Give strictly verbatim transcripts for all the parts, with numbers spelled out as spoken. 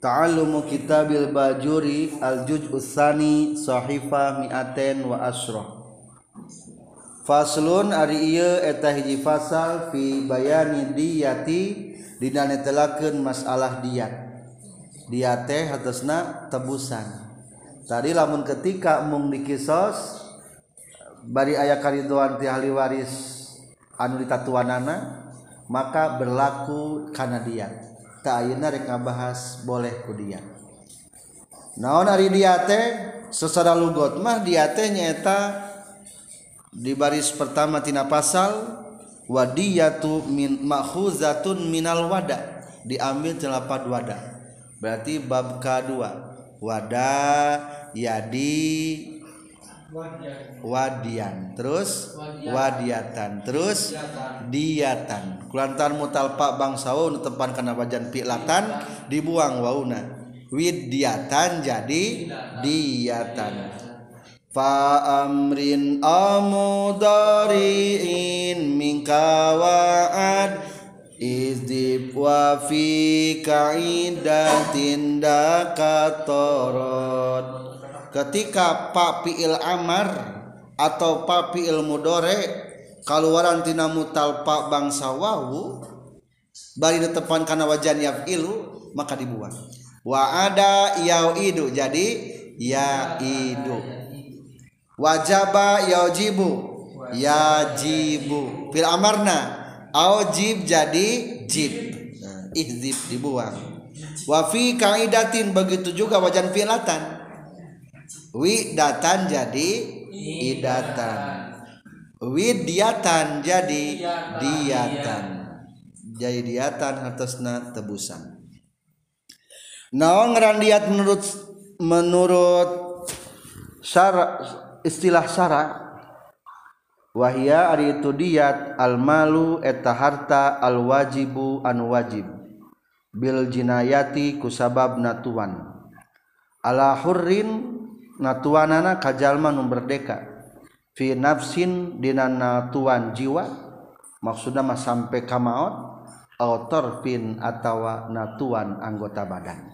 Ta'allumu kitabil Bajuri al-juz'us tsani sahifah mi'atain wa asyrah. Faslun ari ieu eta hiji fasal fi bayani diyati dina netelakeun masalah diyat. Diyat teh hatosna tebusan. Tadi lamun ketika mung dikisos bari aya karidoan ti ahli waris anu ditatuanana maka berlaku kana diyat. Ta ayeuna rek ngabahas boleh ku diyat. Naon ari diyat teh secara lugot mah diyat teh nyaeta di baris pertama tina pasal wadiyatu min makhuzatun minal wada, diambil tina lapad wada. Berarti bab kedua wada yadi wadian terus wadiatan terus diatan kulantar mutalpa bangsaun tepan kana wajan fi'latan dibuang wauna widiatan jadi diatan fa amrin amudariin min kawaad izdib wa fi kaidatin dakatorod. Ketika pa fi'il amar atau pa fi'il mudhari kaluaran tina mutal pa bangsa wawu bari netepan kana wajan yaf'ilu maka dibuang. Wa ada yau'idu jadi yaidu. Wajaba yajibu yajibu. Fil amarna aujib jadi jib. Nah, ihzib dibuang. Wa fi kaidatin begitu juga wajan fi'latan. Widatan jadi idatan, widiatan jadi diatan, jadi diatan atasna tebusan. Naon ngaran diat menurut menurut syara istilah syara wahia ari itu diat al malu eta harta al wajibu anu wajib bil jinayati kusabab natuan ala hurrin natuanana kajalma nu merdeka fi nafsin dina natuan jiwa maksudna mah sampai ka maot au tarfin atawa natuan anggota badan.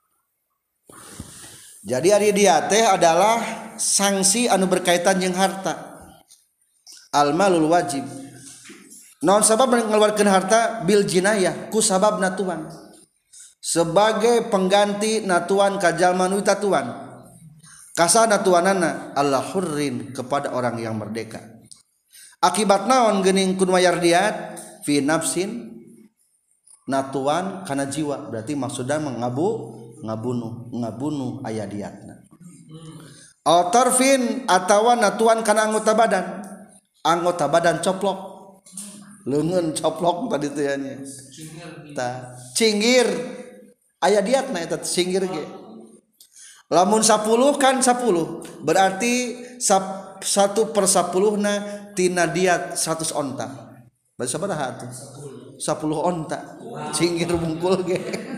Jadi ari dia teh adalah sanksi anu berkaitan jeung harta al malul wajib. Naon sabab ngeluarkeun harta bil jinayah ku sabab natuan sebagai pengganti natuan kajalma nu tatuan. Kasana tuanana Allah hurrin kepada orang yang merdeka. Akibat naon geuning kun mayar diat fi nafsin natuan kana jiwa berarti maksudna mengabu ngabunuh ngabunuh aya diatna. Au tarfin atawa natuan kana anggota badan. Anggota badan coplok. Leungeun coplok tadi teh nya. Tah cinggir aya diatna eta cinggir ge. Lamun sepuluh kan sepuluh berarti satu per sepuluhna tina diat seratus onta. Berarti sabaraha atuh? sepuluh onta. Cinggir bungkul ge.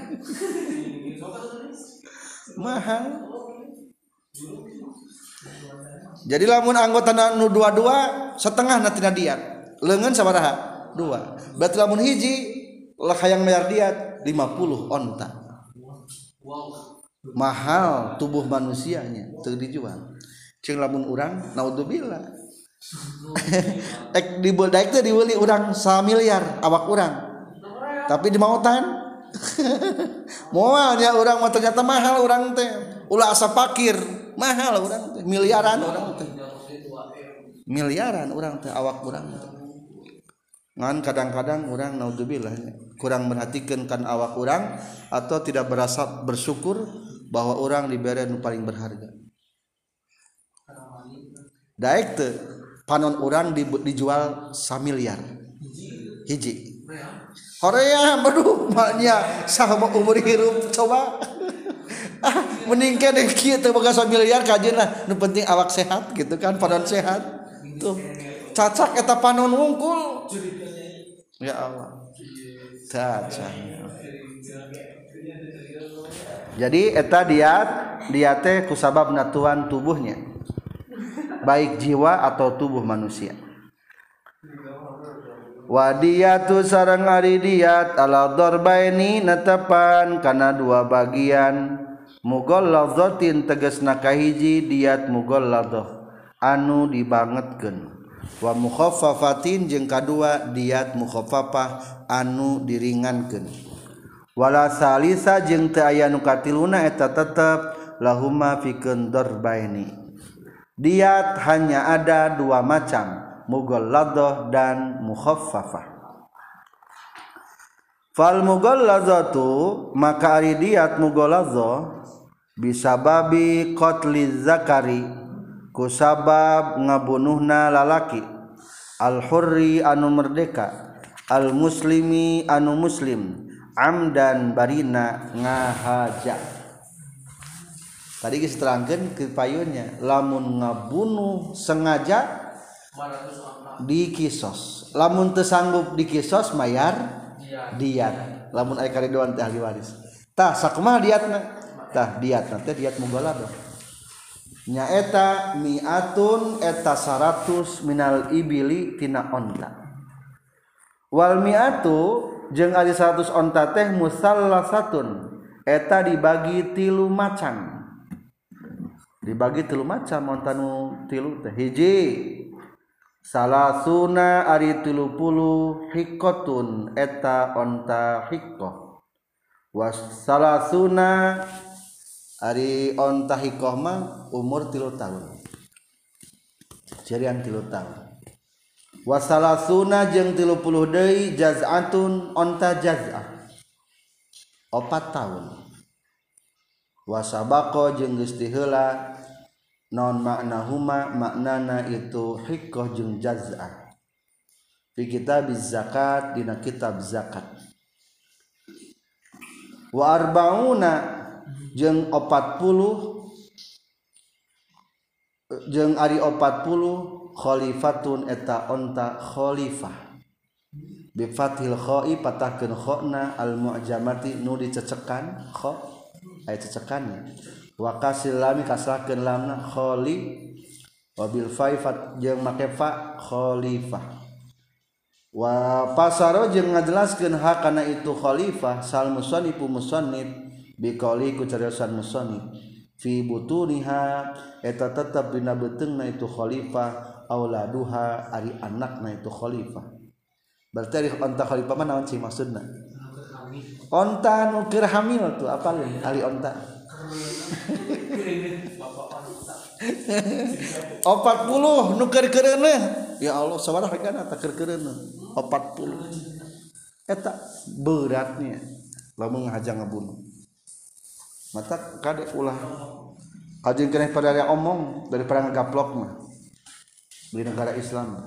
Mahal. Jadi lamun anggota nu dua-dua setengah na tina diat. Leungeun sabaraha? Dua. Berarti lamun hiji lah hayang mayar diat lima puluh onta. Mahal tubuh manusianya teu dijual. Ceung lamun urang naudzubillah. Ek di daek teh diweuli urang sa miliar awak urang. Tapi di mautan. Moal nya urang mah ternyata mahal urang teh. Ulah asa fakir, mahal urang teh miliaran urang teh. Miliaran urang teh awak urang teh. Ngan kadang-kadang urang naudzubillah kurang merhatikeun kan awak urang atau tidak berasa bersyukur bahwa orang diberi nu paling berharga. Daek teu panon urang dijual samiliar hiji. Korea baru maknya saha umur hirup coba. Ah mending keneh kieu teu boga samiliar kajeunna nu penting awak sehat gitu kan panon sehat. Tuh cacak eta panon wungkul. Ya Allah. Cacak. Jadi eta diat diat teh kusabab natuan tubuhnya baik jiwa atau tubuh manusia. Wadiyatu sareng ari diat ala darbaini netepan kana dua bagian mughalladzatin tegasna kahiji diat mughalladhah anu dibangetkeun wa mukhaffafatin jeung kadua diat mukhaffafah anu diringankeun wala salisa jeung teu aya nu katiluna eta tetep lahuma fikeun darbaini diat hanya ada dua macam mughalladhah dan mukhaffafah. Fal mughalladzatu maka ari diat mughalladhah bisababi qatli zakari ku sabab ngabunuhna lalaki al hurri anu merdeka al muslimi anu muslim amdan barina ngahaja. Tadi geus terangkeun ke payunnya lamun ngabunuh sengaja dikisos lamun teu sanggup dikisos mayar diat lamun aya karidoan teh ahli waris tah sakumaha diatna tah diatna teh diat mughalladhah nya eta mi'atun eta seratus minal ibili tina onta wal mi'atu jeung ari seratus onta teh musallasatun eta dibagi tilu macan dibagi tilu macam onta nu tilu teh hiji salasuna ari tilu puluh hikotun eta onta hikoh was salasuna ari onta hikoh mah umur tilu tahun jarian tilu tahun was salasuna jeung tilu puluh deui jaz'atun onta jaz'ah opat tahun wasabaqo jeung geus ti heula non maknahuma maknana itu hikoh jeung jaz'ah fi kitabiz zakat dina kitab zakat wa arbauna jeung opat puluh jeung ari opat puluh khalifatun eta onta khalifah bi fathil kha'i patahkeun khana al mu'jamati nu dicecekan kha aya cecekannya wa kasil lam kasrakeun lamna khali wa bil faifat jeung make fa khalifah wa pasaro jeung ngajelaskeun hak kana itu khalifah sal musannifu musannif bi qauli ku cariosan musannif fi butuniha eta tetep dina beuteungna itu khalifah auladuha ari anakna itu khalifah berarti ari onta khalifah mah naon sih maksudna onta nu keur hamil tuh apal ali onta opat puluh nu keur-keureuneuna ya Allah sabaraha hargana tak keur-keureuneuna opat puluh eta beratnya lamun ngahaja ngabunuh mata kade ulah kajeng keneh pada omong daripada ngagaplok mah di negara Islam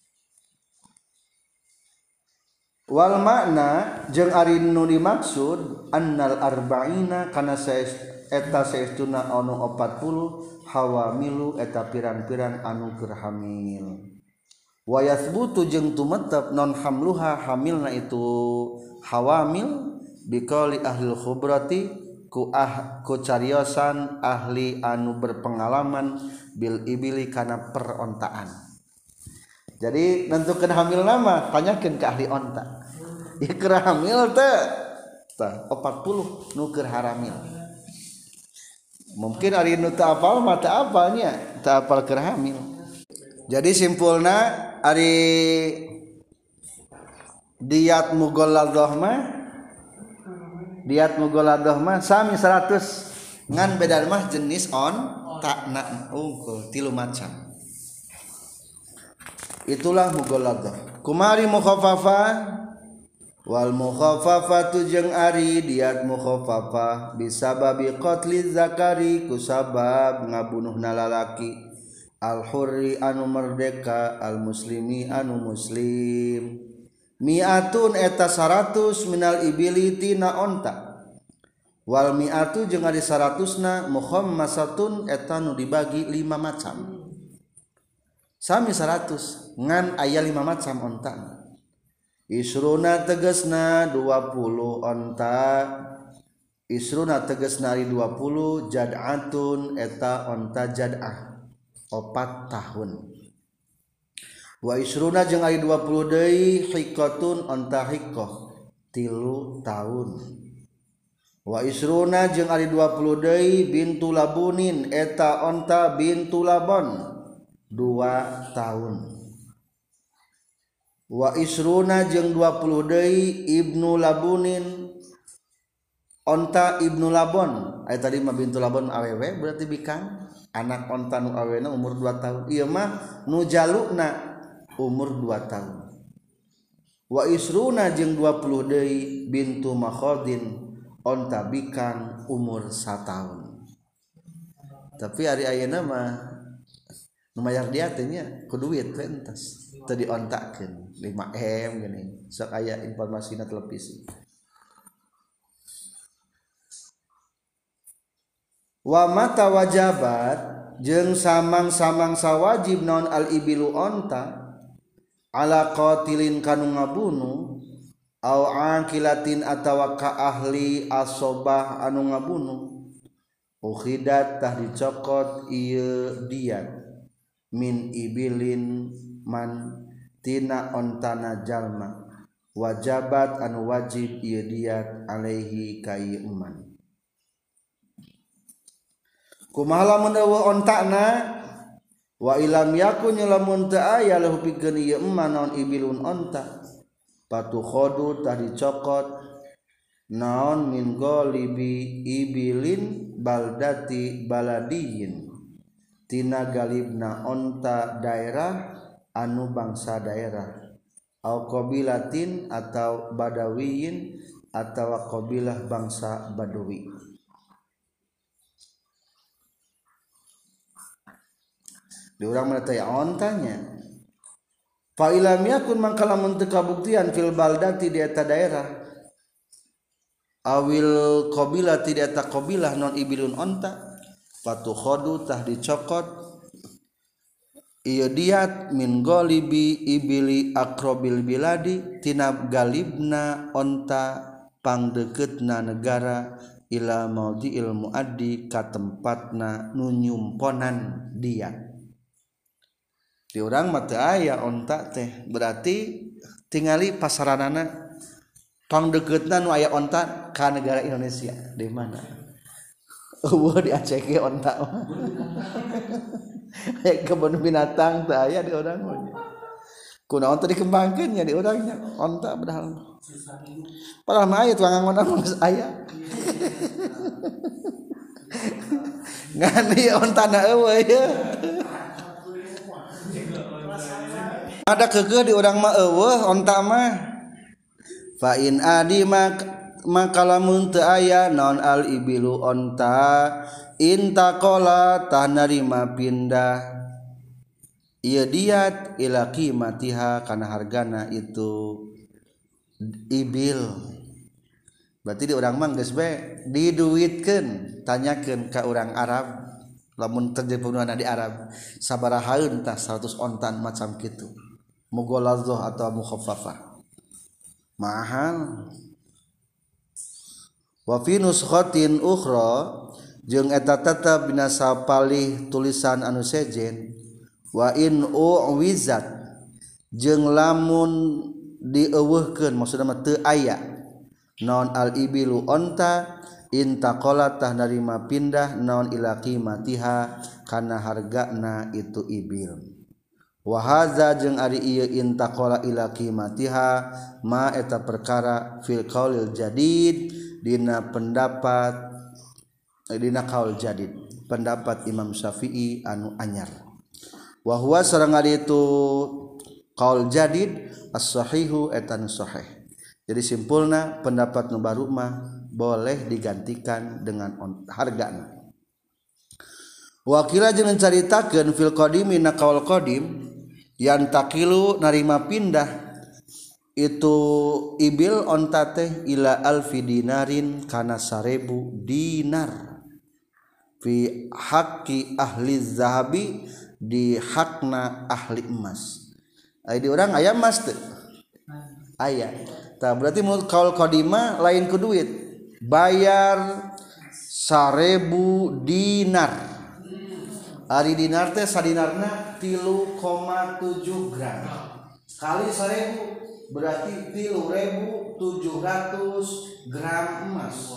wal makna jeung ari nu dimaksud annal arba'ina kana eta saestuna anu opat puluh hawamilu eta pirang-pirang anu keur hamil wa yathbutu jeung tumetep non hamluha hamilna itu hawamil biqauli ahli khubrati ku ah ku cariosan ahli anu berpengalaman bil ibili kana perontaan jadi nentukeun hamil nama tanyakeun ke ahli onta ieu keur hamil teh tah opat puluh nu keur haramil mungkin ari nu teu apal mah teu apalnya teu apal keur hamil jadi simpulna ari diat mughalladhah mah diat mughalladhah mah sami seratus ngan beda mah jenis on takna unggul tilu macam itulah mughalladhah kumari mukhaffafah wal mukhaffafatu jeung ari diat mukhaffafah bisababi qatli zakari ku sabab ngabunuhna lalaki al hurri anu merdeka al muslimi anu muslim mi'atun eta seratus minal ibili tina onta wal mi'atu jeung ari seratusna mukhammasatun eta nu dibagi lima macam sami seratus ngan aya lima macam onta isruna tegasna dua puluh onta isruna tegasna ari dua puluh jad'atun eta onta jad'ah opat tahun wa isruna jeung ari dua puluh deui hiqatun onta hiqah tilu tahun wa isruna jeung ari dua puluh deui bintu labunin eta onta bintu labon dua tahun wa isruna jeung dua puluh deui ibnu labunin onta ibnu labon aya tadi mah bintu labon awewe berarti bikang anak onta nu awena umur dua tahun ieu mah nu jalukna umur dua tahun wa isruna jeung dua puluh deui bintu makhadin onta bikang umur satahun tapi ari ayeuna mah nu mayar dia teh nya ku duit we entas teu diontakeun lima M geuning sok aya informasina televisi wa mata wajabat jeung samang-samang sawajib naon al ibilu onta ala qatilin kanu ngabunuh au aqilatin atawa ka ahli asobah anu ngabunuh ukhidat tah dicokot ieu diat min ibilin man tina ontana jalma wajabat anu wajib ieu diat alaihi ka ieu man kumaha lamun eueuh ontana wa ilam yakun lamun teu aya lahu pikeun ieu eman naon ibilun onta patu khodu tah dicokot naon min golibi ibilin baldati baladiyin tina galibna onta daerah anu bangsa daerah au qabilatin atau badawiyin atawa qabilah bangsa badui di urang mah teh ontanya fa ilam yakun mangka lamun teu kabuktian fil baldati di eta daerah awil qabilati di eta qabilah non ibilun onta fatu khodu tah dicokot ieu diat min golibi ibili akrobil biladi tina galibna onta pangdekeutna negara ila maudhi'il muaddi ka tempatna nu nyumponan diat di urang mah teu aya onta teh berarti tingali pasaranana pangdekeutna nu aya onta ka negara Indonesia di mana eueuh di Aceh ge onta aya kebun binatang teu aya di urang mah kunaon teh dikembangkeun nya di urang nya onta padahal padahal mah aya tukang ngangon geus aya ngan ieu ontana eueuh ye ada keukeuh di urang mah eueuh onta mah fa in adi maka lamun teu aya naon al ibilu onta intaqala tah narima pindah ieu diat ila qimatiha kana hargana itu ibil berarti di urang mah geus bae diduitkeun tanyakeun ka urang Arab lamun terjadi pembunuhan di Arab sabaraha haeun tah seratus ontan macam kitu mughaladzah atau mukhaffafah mahal wa fi nuskhatin ukhra jeung eta tetep dina sapalih tulisan anu sejen wa in uwizat jeung lamun dieuweuhkeun maksudna mah teu aya naon al ibilu onta intaqala tah narima pindah naon ila qimatiha kana hargana itu ibil wa hadza jeung ari ieu intaqala ila qimatiha ma eta perkara fil qaulil jadid dina pendapat dina qaul jadid pendapat Imam Syafi'i anu anyar wa huwa sareng ari itu qaul jadid as-sahihu eta nu sahih jadi simpulna pendapat nu baru mah boleh digantikan dengan hargana wakila jeung caritakeun fil qadimi na qaul qadim yang takilu narima pindah itu ibil onta teh ila alfi dinarin kana sarebu dinar fi haqqi ahli zahabi di hakna ahli emas ai di urang aya emas teu aya tah berarti mun kaul qadimah lain ku duit bayar sarebu dinar ari dinar teh sadinarna tilu koma tujuh gram kali seribu berarti tilu ribu tujuh ratus gram emas.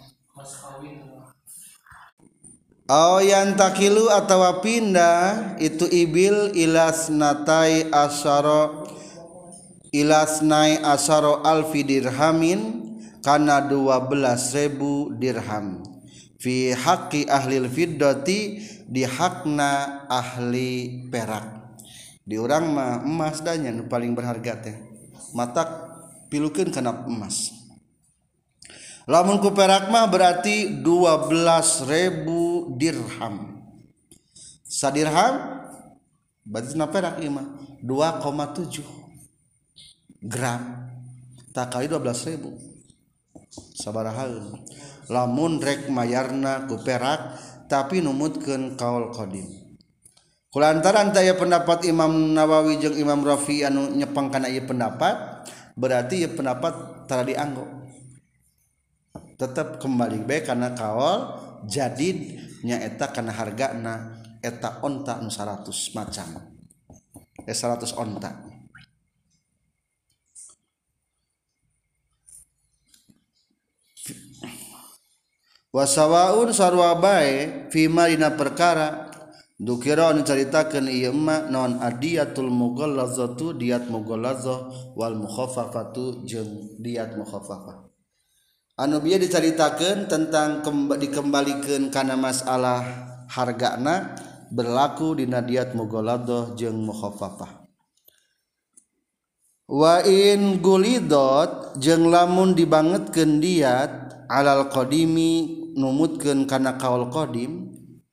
Ayan takilu atau pindah itu ibil ilas natai asaro ilas nai asaro alfi dirhamin karena dua belas ribu dirham fi haqqi ahlil fiddati di hakna ahli perak di urang mah emas danya nu paling berharga teh matak pilukeun kana emas. Lamun ku perak mah berarti dua belas ribu dirham. Sadirham berarti na perak ieu mah dua koma tujuh gram. Tak kali dua belas ribu. Sabaraha lamun rek mayarna ku perak tapi numutkeun kaul qadim. Kulantaran taya pendapat Imam Nawawi jeung Imam Rafi anu nyepeng kana ieu pendapat berarti ieu pendapat tara dianggo. Tetap kembali baik karena kaol jadid nya eta kana hargana eta onta nu seratus macam eh seratus onta. Wasawaun sarua bae fima dina perkara dukira anu caritakeun ieu mah naon adiyatul mughallazatu diat mughallazah wal mukhaffafatu jeung diat mukhaffafah. Anu bieu dicaritakeun tentang dikembalikeun kana masalah hargana berlaku dina diat mughalladah jeung mukhaffafah. Wa in gulidot jeung lamun dibangetkeun diat alal qadimi numutkeun kana kaul qadim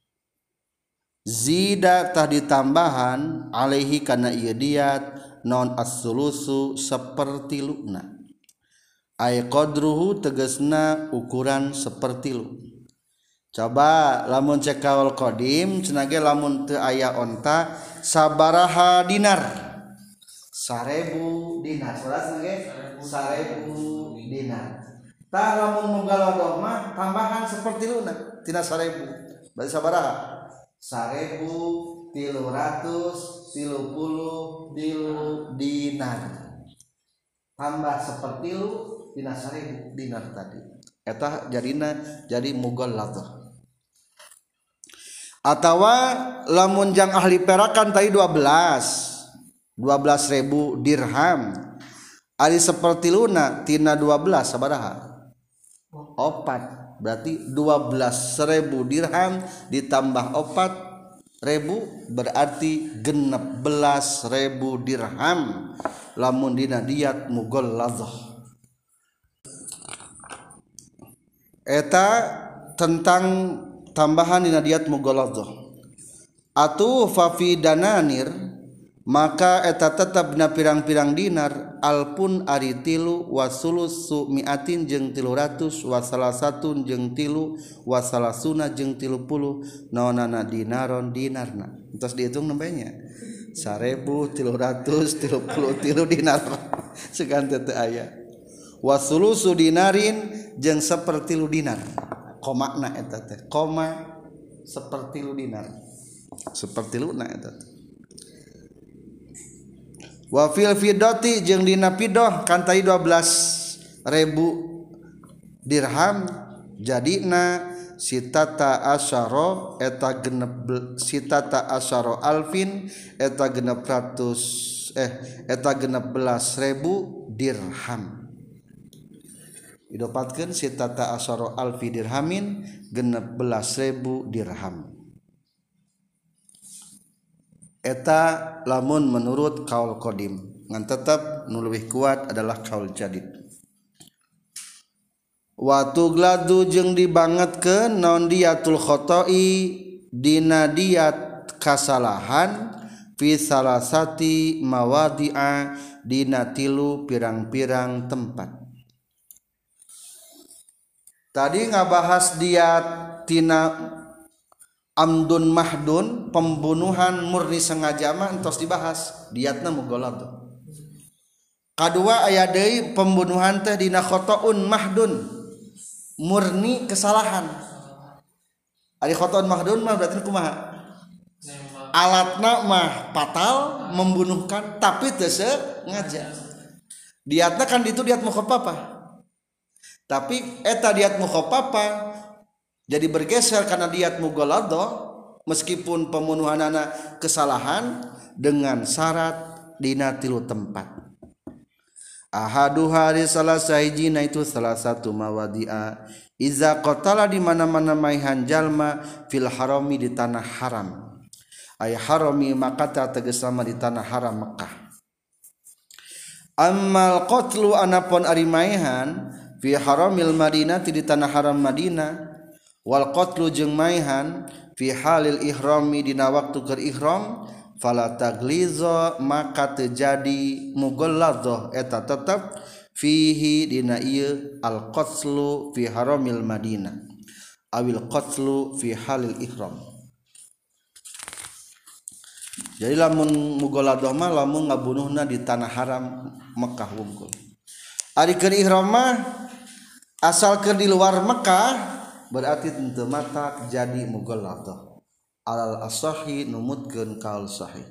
zida tah ditambahan alaihi kana ieu diat non as-sulusu sapertiluna. Ay qadruhu tegasna ukuran seperti lu. Coba lamun cek kaul qadim cenah ge lamun teu aya onta sabaraha dinar? seribu dinar. Salah ge seribu dinar. Tah lamun mugaladoh mah tambahan seperti lu tina seribu. Berarti sabaraha? seribu tilu ratus tilu puluh tilu dinar. Tambah seperti lu dina seribu dinar tadi eta jadina jadi mughalladah. Atawa lamun jang ahli perakan tadi dua belas ribu dirham ari seperti luna tina dua belas sabaraha opat berarti dua belas ribu dirham ditambah opat ribu berarti genep belas ribu dirham lamun dina diat mughalladah. Eta tentang tambahan dina diat mughalladah. Atu fa fi dananir maka eta tetep dina pirang-pirang dinar alpun ari tilu wasulusu miatin jeung tilu ratus wasalasatun jeung tilu wasalasuna jeung tilu puluh naonana dinaron dinarna. Entos dihitung nembenya seribu tilu ratus tilu puluh tilu dinar segan teu aya. Wasulusu dinarin jeung seperti lu dinar koma na eta teh koma seperti lu dinar seperti lu na eta teh. Wa fil fiddati jeung dina fidah kan tadi dua belas ribu dirham jadina sitata asyara eta genep sitata asyara alfin eta genep ratus eh eta genep belas ribu dirham. Didapatkeun sitata asyara alfi dirhamin genep belas ribu dirham. Eta lamun menurut kaul qadim ngan tetep nu leuwih kuat adalah kaul jadid. Wa tugladu jeung dibangetkeun naon diatul khotai dina diat kasalahan fi salasati mawadi'a dina tilu pirang-pirang tempat. Tadi ngabahas diat tina amdun mahdun pembunuhan murni sengaja mah entos dibahas diatna mughalladah. Kadua aya deui pembunuhan teh dina khotoun mahdun murni kesalahan. Ari khotoun mahdun mah berarti kumaha? alatna mah fatal membunuhkan tapi teu sengaja. Diatna kan itu diat mukhaffafah. Tapi eta diat mukhaffafah jadi bergeser karena diat mughalladah meskipun pembunuhanana kesalahan dengan syarat dina tilu tempat. Ahadu hari salah sahijina itu salah satu mawadi'a iza qatala di mana-mana maihan jalma fil harami di tanah haram. Ay harami Makkah tegesama di tanah haram Mekah. Ammal qatlu anapun ari maihan fi haramil Madinah di tanah haram Madinah wal qatlu jeung maihan fi halil ihrami dina waktu keur ihram fala tagliza maka terjadi mughalladhah eta tetep fihi dina ieu al qatlu fi haramil Madinah awil qatlu fi halil ihram. Jadi lamun mughalladhah mah lamun ngabunuhna di tanah haram Mekah wungkul. Ari keur ihram mah asal keur di luar Mekah berarti teu matak jadi mughalladhah. Alal asahi numutkeun kaul sahih.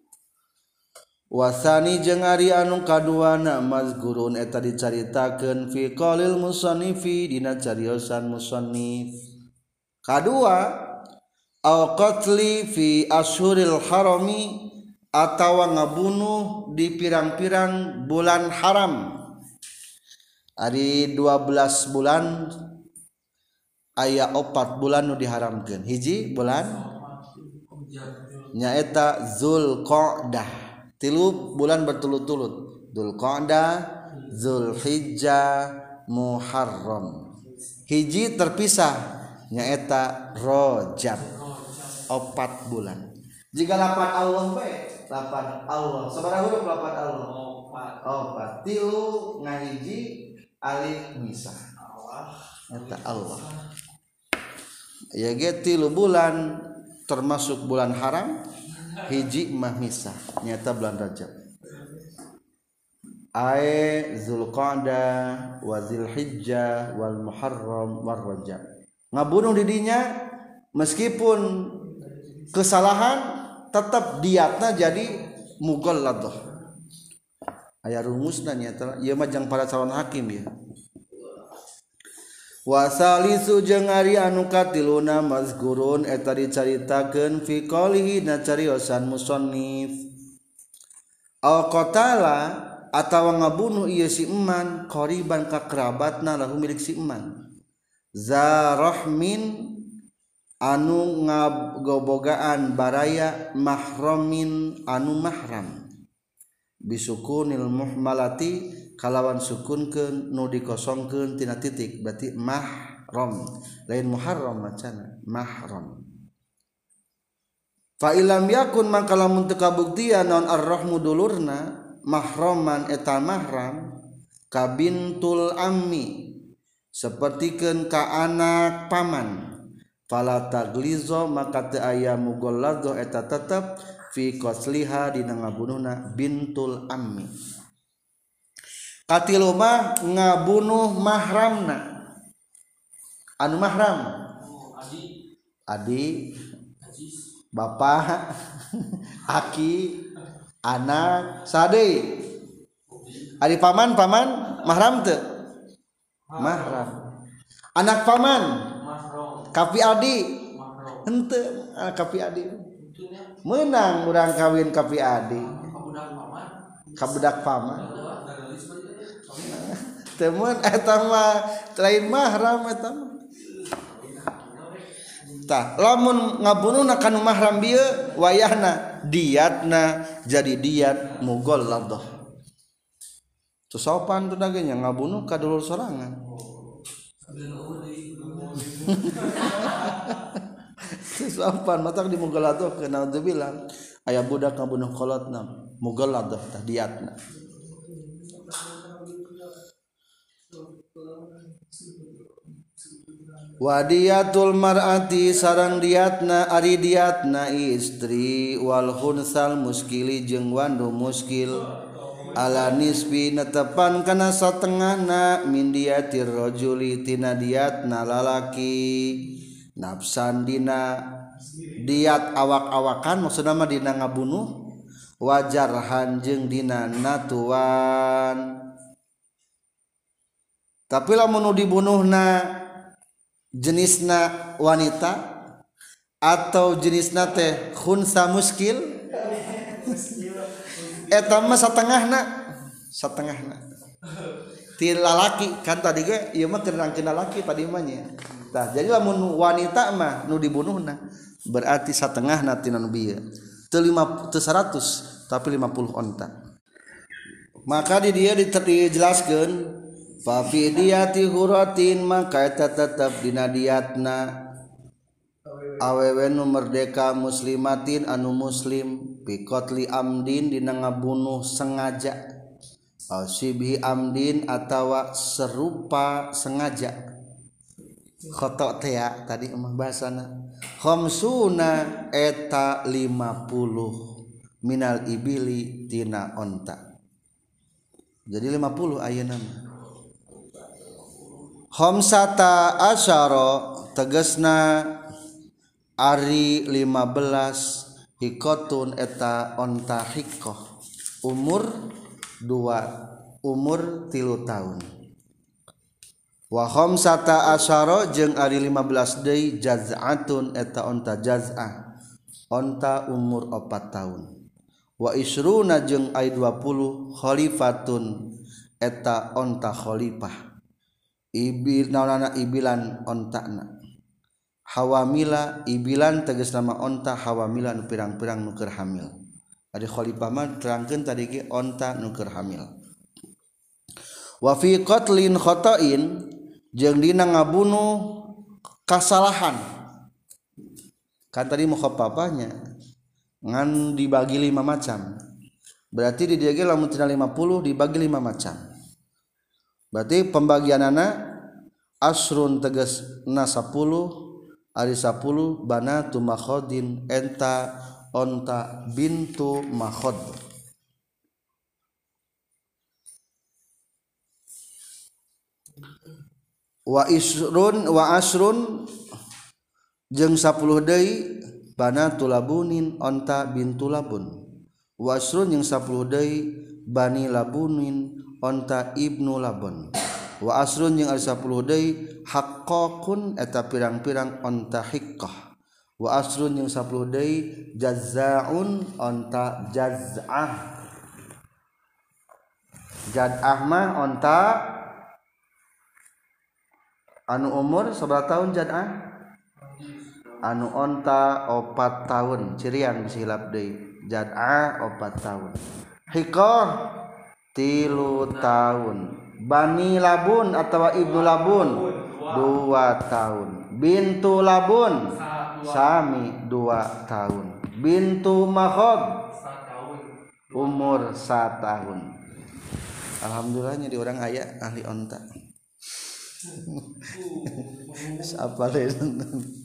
Wasani jeung ari anu kaduana mazgurun eta dicaritakeun fi qaulil musannifi dina cariosan musannif. Kadua au qatli fi ashuril harami atawa ngabunuh di pirang-pirang bulan haram. Ari dua belas bulan aya opat bulan nu diharamkeun. Hiji bulan nyaeta Zulqa'dah. Tilu bulan berturut-turut. Zulqa'dah, Zulhijjah, Muharram. Hiji terpisah nyaeta Rajab. Opat bulan. Jika lapan Allah bae, lapan Allah. Sabaraha huruf lapan Allah? Opat. Opat. Tilu ngahiji alif misah. Eta Allah. Ya ge tilu bulan termasuk bulan haram, hiji mah misah. Nyata bulan Rajab. Ae Zulqa'dah wa Zulhijjah wal Muharram war Rajab. Ngabunuh di dinya meskipun kesalahan tetap diatna jadi mughalladhah. Aya rumusna nyata ieu mah jang para calon hakim ya. Wa salisu jeung ari anu katiluna mazkurun eta dicaritakeun fi qalihi na cariosan musannif. Au qatala atawa ngabunuh ieu si eman qariban ka kerabatna lahu milik si eman. Za rahmin anu ngagobogaan baraya mahramin anu mahram bisukunil muhmalati kalawan sukunkeun nu dikosongkeun tina titik berarti mahram lain muharram macana mahram. Fa ilam yakun maka lamun teu kabuktian naon ar-rahmu dulurna mahraman eta mahram kabintul ammi sapertikeun ka anak paman fala taglizo maka teu aya mughalladhah eta tetep fi qasliha dina ngabunuhna bintul ammi. Katilu mah ngabunuh mahramna anu mahram adi adi bapak aki anak sadeu ari paman paman mahram teu mahram anak paman kapi adi henteu kapi adi meunang urang kawin kapi adi kabudak paman temen eta mah lain mahram eta mah tah lamun ngabunuhna kanu mahram bieu wayahna diatna jadi diat mughalladhah teu sopan teh dagenya ngabunuh ka dulur sorangan teu sopan matak di mughalladhah ke naudzubillah aya budak ngabunuh kolotna mughalladhah tah diatna. Wadiyatul mar'ati sarang diatna ari diatna istri wal khunsal muskili jeung wandu muskil ala nisbi netepan kana satengahna min diatir rajuli tina diatna lalaki nafsan dina diat awak-awakan maksudna mah dina ngabunuh wajarhan jeung dina natuan. Tapi lamun nu dibunuhna jenisna wanita atau jenisna teh khunsa muskil eta mah satengahna satengahna ti lalaki kan tadi ge ieu mah keur rangkeun lalaki tadi mah nya. Tah jadi lamun wanita mah nu dibunuhna berarti satengahna tina nu bieu teu lima teu seratus tapi lima puluh onta. Maka di dia dijelaskeun fa fi diyati huratin maka eta tetep dina diatna awewe nu merdeka muslimatin anu muslim biqatli amdin dina ngabunuh sengaja asibhi amdin atawa serupa sengaja khoto teh ya tadi emang bahasana khamsuna eta lima puluh minal ibili tina onta. Jadi lima puluh ayeuna mah khamsata asyara tegasna ari lima belas hikotun eta onta hikoh umur dua umur tilu tahun. Wa khamsata asyara jeung ari lima belas deui jaz'atun eta onta jaz'ah onta umur opat tahun. Wa isruna jeung ai dua puluh khalifatun eta onta khalifah ibil naonana ibilan ontana hawamila ibilan tegas nama onta hawamila nu pirang-pirang nu keur hamil. Ari khalifah mah terangkeun tadi ge onta nu keur hamil. Wa fi qatlin khata'in jeung dina ngabunuh kasalahan kan tadi mukhaffafahnya ngan dibagi lima macam berarti di dieu ge lamun tina lima puluh dibagi lima macam berarti pembagianana asrun tegasna sepuluh ari sepuluh banatu makhodin enta onta bintu makhod. Wa isrun wa asrun jeung sepuluh deui banatu labunin onta bintu labun. Wa asrun jeung sepuluh deui bani labunin onta ibnu labun. Wa asrun jeung ari sepuluh deui haqqaqun eta pirang-pirang onta hiqqah. Wa asrun jeung sepuluh deui jazaun onta jaz'ah. Jad'ah mah onta anu umur sabaraha tahun jad'ah? Anu onta opat tahun cirian bisa hilap deui. Jad'ah opat tahun. Hiqqah tilu tahun. Bani labun atau ibnu labun dua tahun. Bintu labun sami dua tahun. Bintu makhod umur satu tahun. Alhamdulillahnya di orang aya ahli onta. Siapa leuh?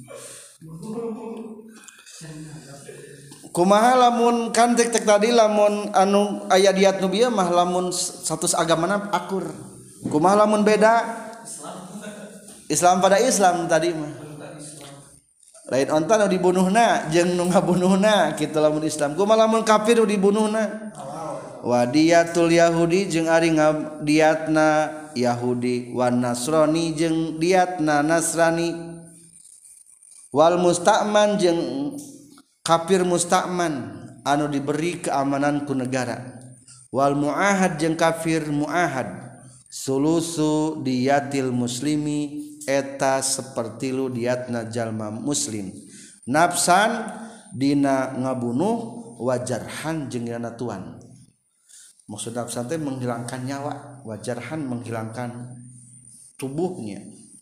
Kumaha lamun kan tek tek tadi lamun anu aya diat nu bieu mah lamun status agamana akur. Kumaha lamun beda? Islam pada Islam tadi mah. Lain onta nu dibunuhna jeung nu ngabunuhna kitu lamun Islam. Kumaha lamun kafir nu dibunuhna? Wa diyatul yahudi jeung ari ngadiatna Yahudi wan Nasrani jeung diatna Nasrani wal musta'man jeung kafir musta'man anu diberi keamanan ku negara wal muahad jeung kafir muahad sulusu diyatil muslimi eta sapertilu diatna jalma muslim nafsan dina ngabunuh wajarhan jeung dina tuan. Maksud nafsan teh menghilangkan nyawa, wajarhan menghilangkan tubuhnya.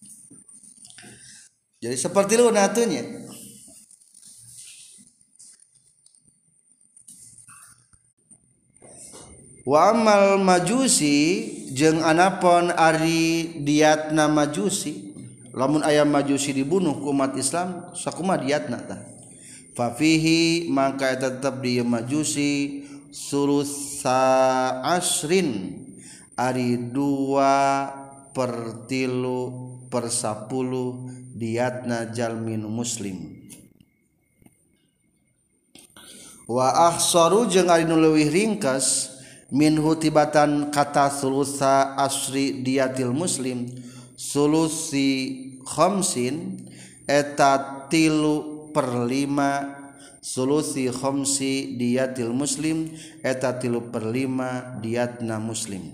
Jadi seperti lu natunya. Wa amal majusi jeung anapon ari diatna majusi lamun aya majusi dibunuh ku umat Islam sakumaha diatna tah fa fihi maka tetep dieu majusi sulusa asrin ari dua per tilu per sepuluh diatna jalmin muslim wa ahsaru jeung ari nu leuwih ringkas minhu tibatan kata sulusa asri diatil muslim sulusi khamsin eta tilu per lima sulusi khamsi diatil muslim eta tilu per lima diatna muslim.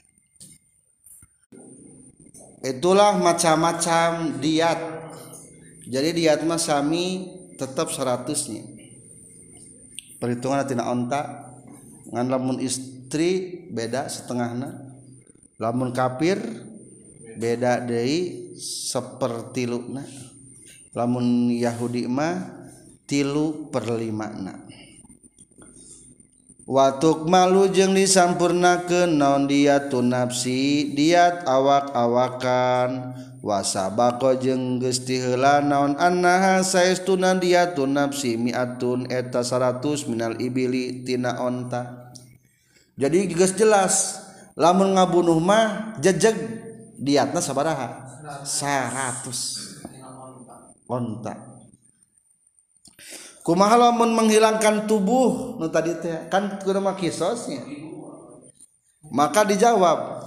Itulah macam-macam diat. Jadi diat mah sami tetap seratusnya. Perhitungan tina onta ngan lamun istri beda setengahna, lamun kafir beda deui sapertiluna, lamun Yahudi mah tilu per limana. Watuk malu jeung disampurnakeun naon diatun nafsi diat awak-awakan wasabaqo jeung geus ti heula naon annaha saestuna diatun nafsi mi'atun eta seratus minal ibili tina onta. Jadi geus jelas lamun ngabunuh mah jejeg diatna sabaraha seratus onta. Kumaha lamun menghilangkan tubuh nu tadi teh kan kudu mah qisasnya. Maka dijawab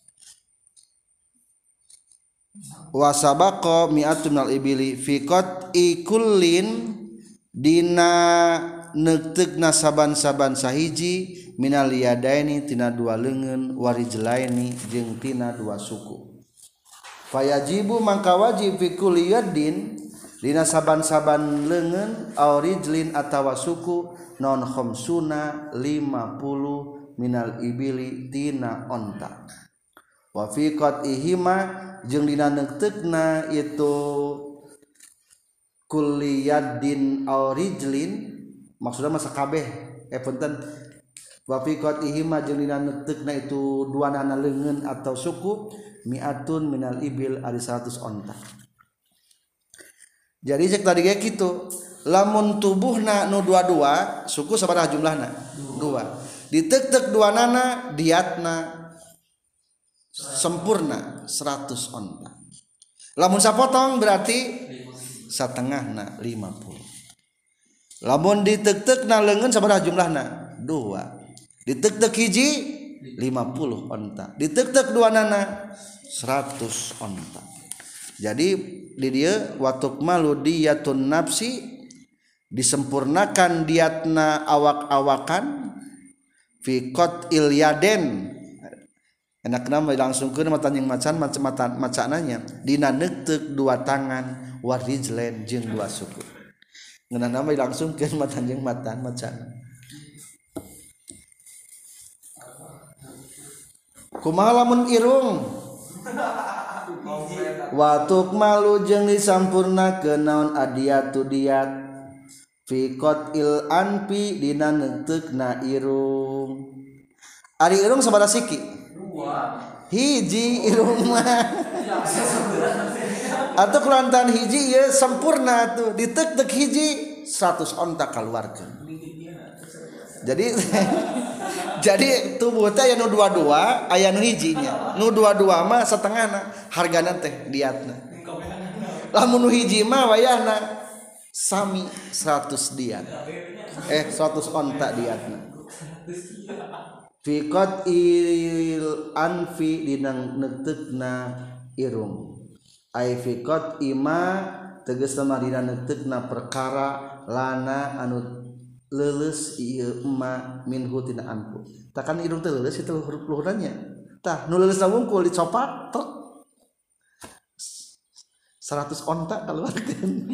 wasabaqa mi'atun minal ibili fi qat'i kullin dina neuteukna saban-saban sahiji minal yadaini tina dua leungeun warijlaini jeung tina dua suku. Fayajibu mangka wajib fi kulli yadin dina saban-saban leungeun aw rijlin atawa suku non khamsuna lima puluh minal ibili tina onta. Wa fi qat'ihima jeung dina neuteukna itu kulli yaddin aw rijlin maksudna masa kabeh eh punten wa fi qat'ihima jeung dina neuteukna itu duanana leungeun atau suku mi'atun minal ibil ari seratus onta. Jadi cek tadi kayak gitu lamun tubuhna nu dua-dua suku sabaraha jumlahna dua ditek-tek dua nana diatna sempurna seratus onta. Lamun sapotong berarti satengahna lima puluh. Lamun ditek-tekna leungeun sabaraha jumlahna dua ditek-tek hiji lima puluh onta ditek-tek dua nana seratus onta. Jadi di dia watuk malu diyatun nafsi disempurnakan diatna awak-awakan fi qat'il yaden enak nama langsungkeun mata jeung macan macam macananya dina neuteuk dua tangan warijlen jeung dua suku ngeunah nama langsungkeun mata jeung mata macan. Kumaha lamun irung watuk malu jeung disampurnakeun naon adiatu diat fi qat'il anfi dina neuteukna irung. Ari irung sabaraha siki? Dua. Hiji irung mah. Atuh kulantaran hiji ieu sempurna tuh diteuk-teuk hiji seratus onta kaluarkeun. Jadi jadi tubuh teh aya nu dua-dua aya nu hijinya nu dua-dua mah setengahna hargana teh diatna. Lamun nu hiji mah wayahna sami seratus diat eh seratus onta diatna. Fi qat'il anfi dina neuteukna irung ai fi qat'ima tegasna dina neuteukna perkara lana anu leuleus ieu emma minhu tina anfu. Tah kan irung teh leuleus itu huruf-hurufna tah nu leuleusna wungkul dicopat trek seratus onta kaluarkeun.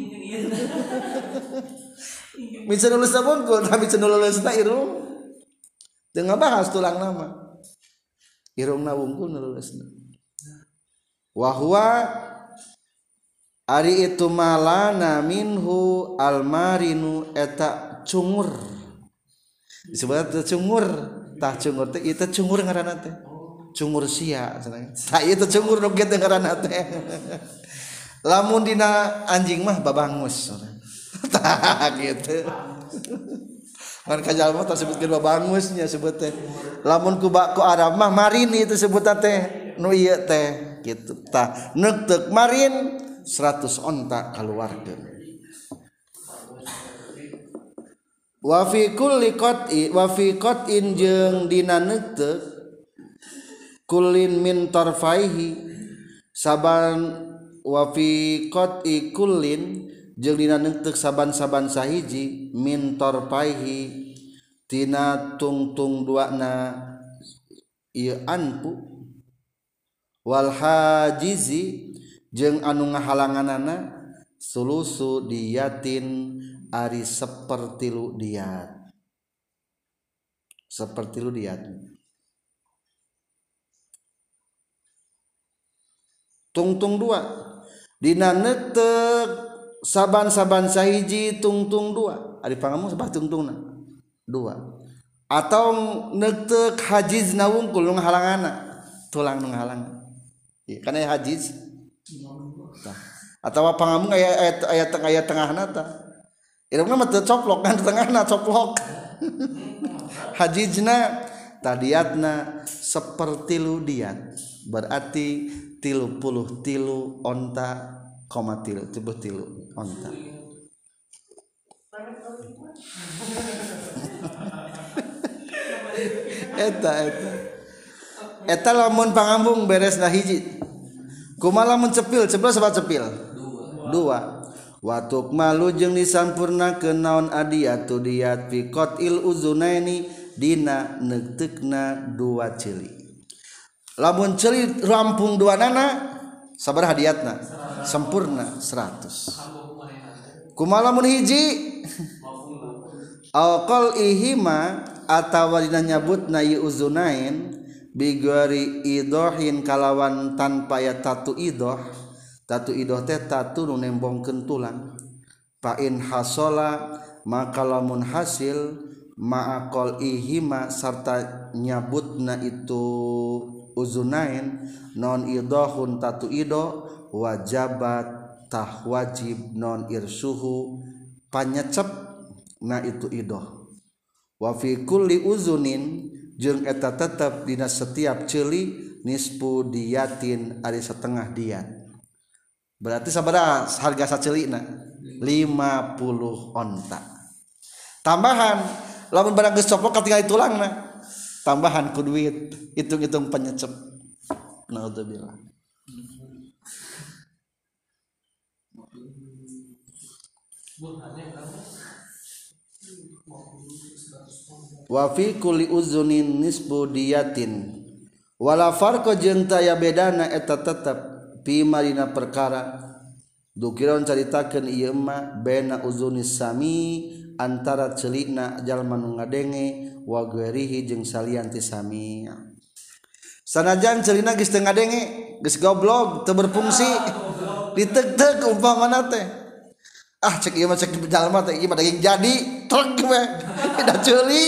Micen leuleusna wungkul tah micen leuleusna irung teu ngabahas tulang nama irungna wungkul nu leuleusna. Wa huwa ari itu malana minhu almarinu eta cungur disebut cungur tah cungur teh itu cungur ngaranna teh cungur sia tah itu cungur nu kitu ngaranna teh. Lamun dina anjing mah babangus tah kitu kan kajalma tah sebutkeun babangusnya sebut teh. Lamun ku ku Arab mah marini itu sebutna teh nu ieu teh kitu tah neuteuk marin seratus onta kaluarkeun. wa fi kulli qat'i wa fi qat'in jeung dina neuteuk kullin min tarfaihi saban wa fi qat'i kullin jeung dina neuteuk saban-saban sahiji min tarfaihi tina tungtung duana ieu anpu wal hajizi jeung anu ngahalanganana sulusu diyatin ari sepertilu diat sepertilu diat tungtung dua dina neuteuk saban-saban sahiji tungtung dua ari pangamu sabah tungtungna dua atau neuteuk hajizna wungkul nu ngahalangana tulang nu ngahalangan kana hajiz tah atawa pangamu aya aya aya aya tengahna tah irungna mah teu coplok kan tengahna coplok hajizna tadiatna sepertilu diat berarti tilu puluh tilu onta koma tilu tilu tilu onta eta eta eta lamun pangambung beresna hiji kumaha lamun cepil cepil sabaraha cepil dua watuk malu jeung disampurnakeun naon adiatu diat fi qatil uzunaini dina neuteukna dua ceuli lamun ceuli rampung dua nana sabaraha diatna sempurna seratus kumaha lamun hiji aqal ihima atawa dina nyabutna yu uzunain bigari idohin kalawan tanpa ya tatu idoh tatu idoh teh tatu nu nembongkeun tulang fa in hasola maka lamun hasil ma'aqal ihima sarta nyabutna itu uzunain non idohun tatu idoh wajabat tah wajib non irsuhu panyecep na itu idoh wa fi kulli uzunin jeung eta tetep dina setiap ceuli nisfu diyatin ari setengah diat berarti sabaraha harga saceulina lima puluh onta tambahan lamun barang geus coplok katingali tulangna tambahan ku duit hitung-hitung penyecep naudzubillah wa fi kulli uzunin nisbu diyatin wala farqa jeung taya bedana eta tetep pi marina perkara dukiron caritakeun ieu mah baina uzunis sami antara ceulina jalma nu ngadenge wa ghairihi jeung salian ti sami sanajan ceulina geus teu ngadenge geus goblok teu berfungsi diteug-teug umpamana teh ah cek ieu mah cek jalma teh ieu mah daging jadi trek we da ceuli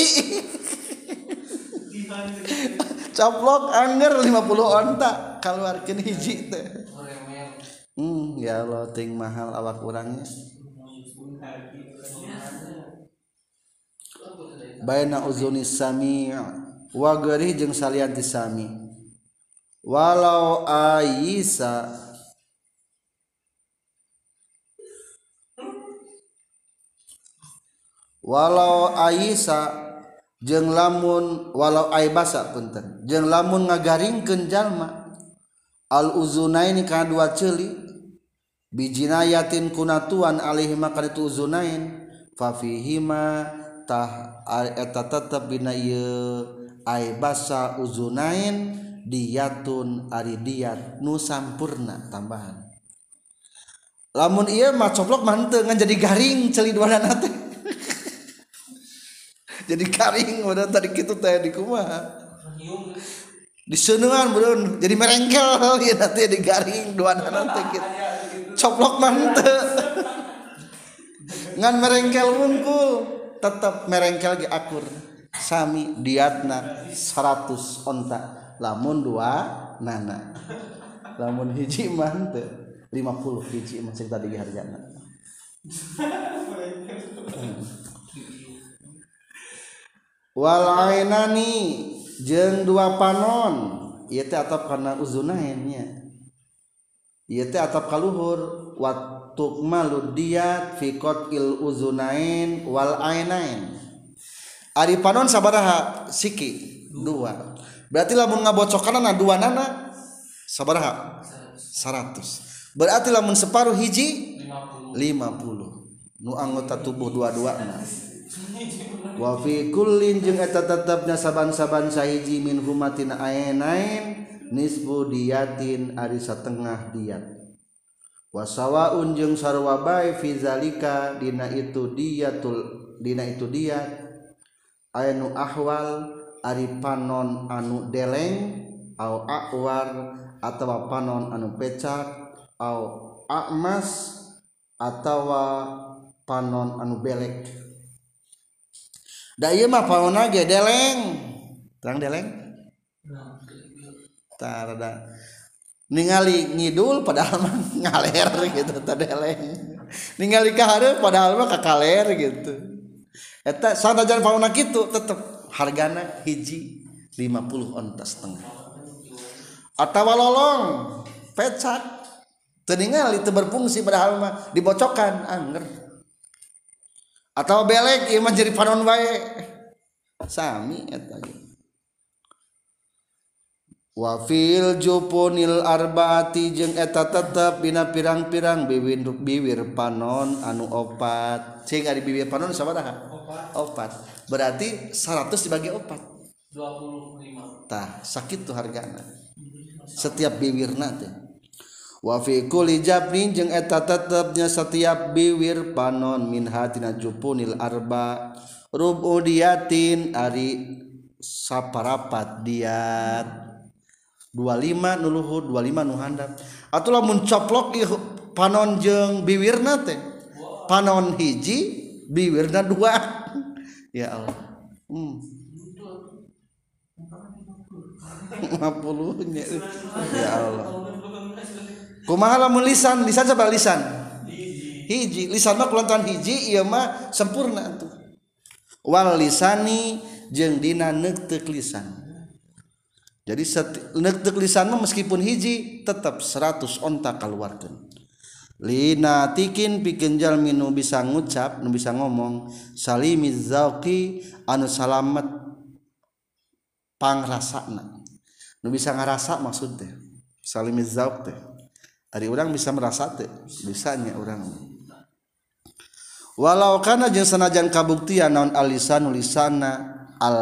coplok anger lima puluh onta kaluarkeun hiji teh hmm ya Allah ting mahal awak urangnya baina uzunis sami wa ghairi jeung salian ti sami walau aisa walau aisa jeung lamun walau aibasa punten jeung lamun ngagaringkeun jalma al uzunaini kana dua ceuli bijinayatin kunatuan alaihi maka itu uzunain fa fihima tah eta tetep dina ieu aibasa uzunain diyatun ari diyat nu sampurna tambahan lamun ieu mah coplok mah henteu ngan jadi garing ceuli duanana teh jadi garing udah tadi kitu teh di kumaha diseuneuan beureun jadi merengkel ieu teh di garing duanana teh kitu coplok mah henteu ngan merengkel wungkul tetep merengkel ge akur sami diatna seratus onta lamun dua nana lamun hiji mah henteu lima puluh hiji mah cek tadi hargana wal ainani jeung dua panon ieu teh atap kana uzunain nya ieu teh atap kaluhur wat tukmalu diyat fi qatil uzunain wal ainain. Ari panon sabaraha siki dua. Berarti lamun ngabocokanana dua nana sabaraha seratus. Berarti lamun separuh hiji lima puluh. Nu anggota tubuh dua-duana. Wa fi kullin jeung eta tetepna saban-saban sahiji min humatin ainain nisbu diyatin ari satengah diyat. Wa sawaun jeung sarua bae fi zalika dina itu diyatul dina itu diyat anu ahwal ari panon anu deleng au akwar atawa panon anu pecak au akmas atawa panon anu belek. Da ieu mah panon ge deleng. Terang deleng? Tah rada ningali ngidul padahal mah ngaler gitu tah deleng. Ningali ka hareup padahal mah kakaler gitu. Eta sanajan paona kitu tetep hargana hiji lima puluh onta setengah. Atawa lolong pecak teu ningali teu berfungsi padahal mah dibocokan anger. Atawa belek ieu mah jadi panon bae. Sami eta ge. Wa fil jupunil arbaati jeung eta tetep dina pirang-pirang biwir biwir panon anu opat. Cing ari biwir panon sabaraha? Opat. Berarti seratus dibagi opat dua puluh lima. Tah sakitu hargana setiap biwirna teh. Wa fi kulli jabnin jeung eta tetepnya setiap biwir panon min hatina jupunil arba rubu diyatin ari saparapat diat dua puluh lima nu luhur dua puluh lima nu handap. Atuh lamun coplok ieu panon jeung biwirna teh panon hiji biwirna dua. Ya Allah. Hmm. lima puluh nya. Ya Allah. Kumaha lamun lisan? Lisan sabaraha lisan? Hiji. Lisan mah kulantaran hiji ieu mah sempurna atuh. Wal lisani jeung dina neuteuk lisan. Jadi neuteuk lisan mah meskipun hiji tetap seratus onta kaluarkeun. Lina tikin pikeun jalmi nu bisa ngucap nu bisa ngomong salimiz zauqi anu salamet pangrasana nu bisa ngarasa maksud teh salimiz zauq teh ari urang bisa merasa teh bisanya urang walau kana jeung sanajan kabuktian naon alisan lisanna al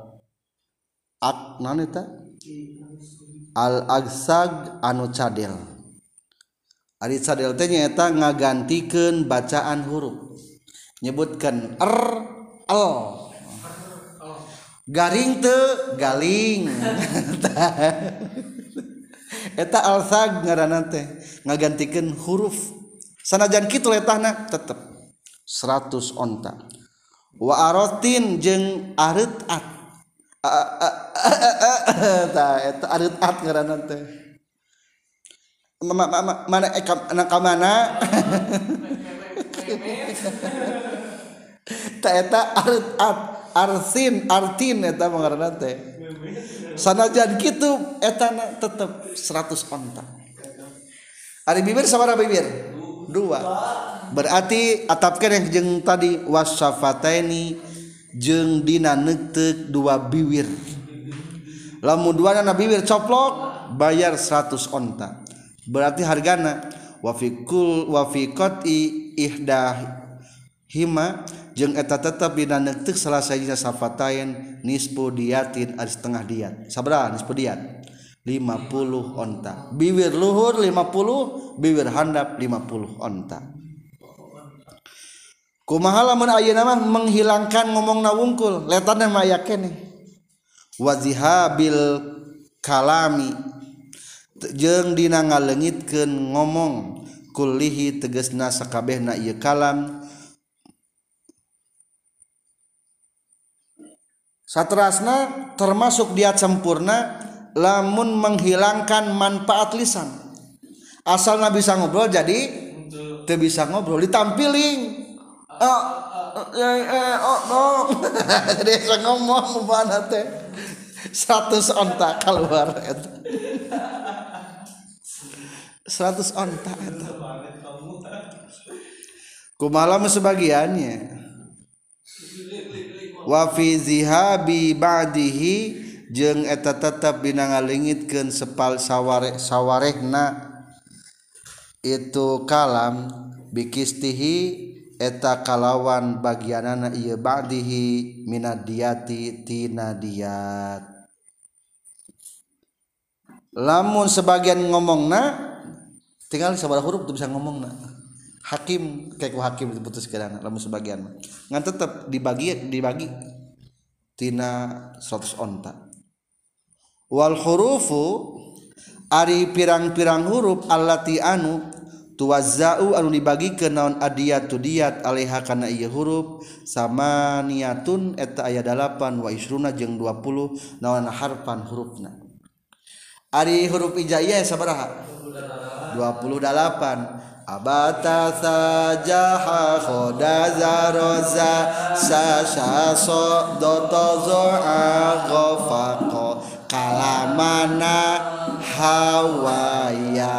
ak naon eta al agsag anu cadel. Ari cadel teh nyaeta ngagantikeun bacaan huruf. Nyebutkeun er el. Garing teu galing. Eta alsag ngaranna teh ngagantikeun huruf. Sanajan kitu letahna tetep seratus onta. Wa aratin jeung areut-at. Tah eta areut-at ngaranna teh. Mana anak kamana ta eta areut-at arsin artin eta ngaranna teh sanajan kitu etana tetep seratus onta. Ari bibir sabaraha bibir? Dua. Berarti atapkeun yang jeung tadi wasyafataini jeung dina neuteuk dua bibir. Lamun duana bibir coplok bayar seratus onta. Berarti hargana wa fi kul wa fi qati ihdah hima jeung eta tetep dina neuteuk salah sajina safatain nisfu diyatin ari setengah diat. Sabaraha nisfu diat? lima puluh onta. Bibir luhur lima puluh, bibir handap lima puluh onta. Kumaha lamun ayeuna mah menghilangkan ngomongna wungkul, letana mah aya keneh. Wa zihabil kalami jeung dina ngaleungitkeun ngomong kullihi tegasna sakabehna ieu kalam saterasna termasuk diat sempurna lamun menghilangkan manfaat lisan. Asalna bisa ngobrol jadi teu bisa ngobrol ditampiling. Oh, eh eh oh no. Jadi ngomong mana teh seratus onta keluar eta. seratus onta eta. kumaha sebagiannya wa fi zihabi ba'dihi jeung eta tetep dina ngalingitkeun sepal saware sawarehna itu kalam bikistihi eta kalawan bagianana ieu ba'dihi minadiyati tina diyat. Lamun sebagian ngomongna tinggal sabaraha huruf tuh bisa ngomongna hakim kayak ku hakim diputuskeun lamun sebagian ngan tetep dibagi dibagi tina seratus onta. Wal hurufu ari pirang-pirang huruf allati anu tuwazza'u anu dibagikeun naon adiyatu diyat alaiha kana ieu huruf sama niatun eta aya dalapan wa isruna jeung dua puluh naon harfan hurufna. Ari huruf hijaiyah sabaraha? dua puluh delapan. Abata sajaha khodaza roza sashaso dotozo agofako kalamana hawaya.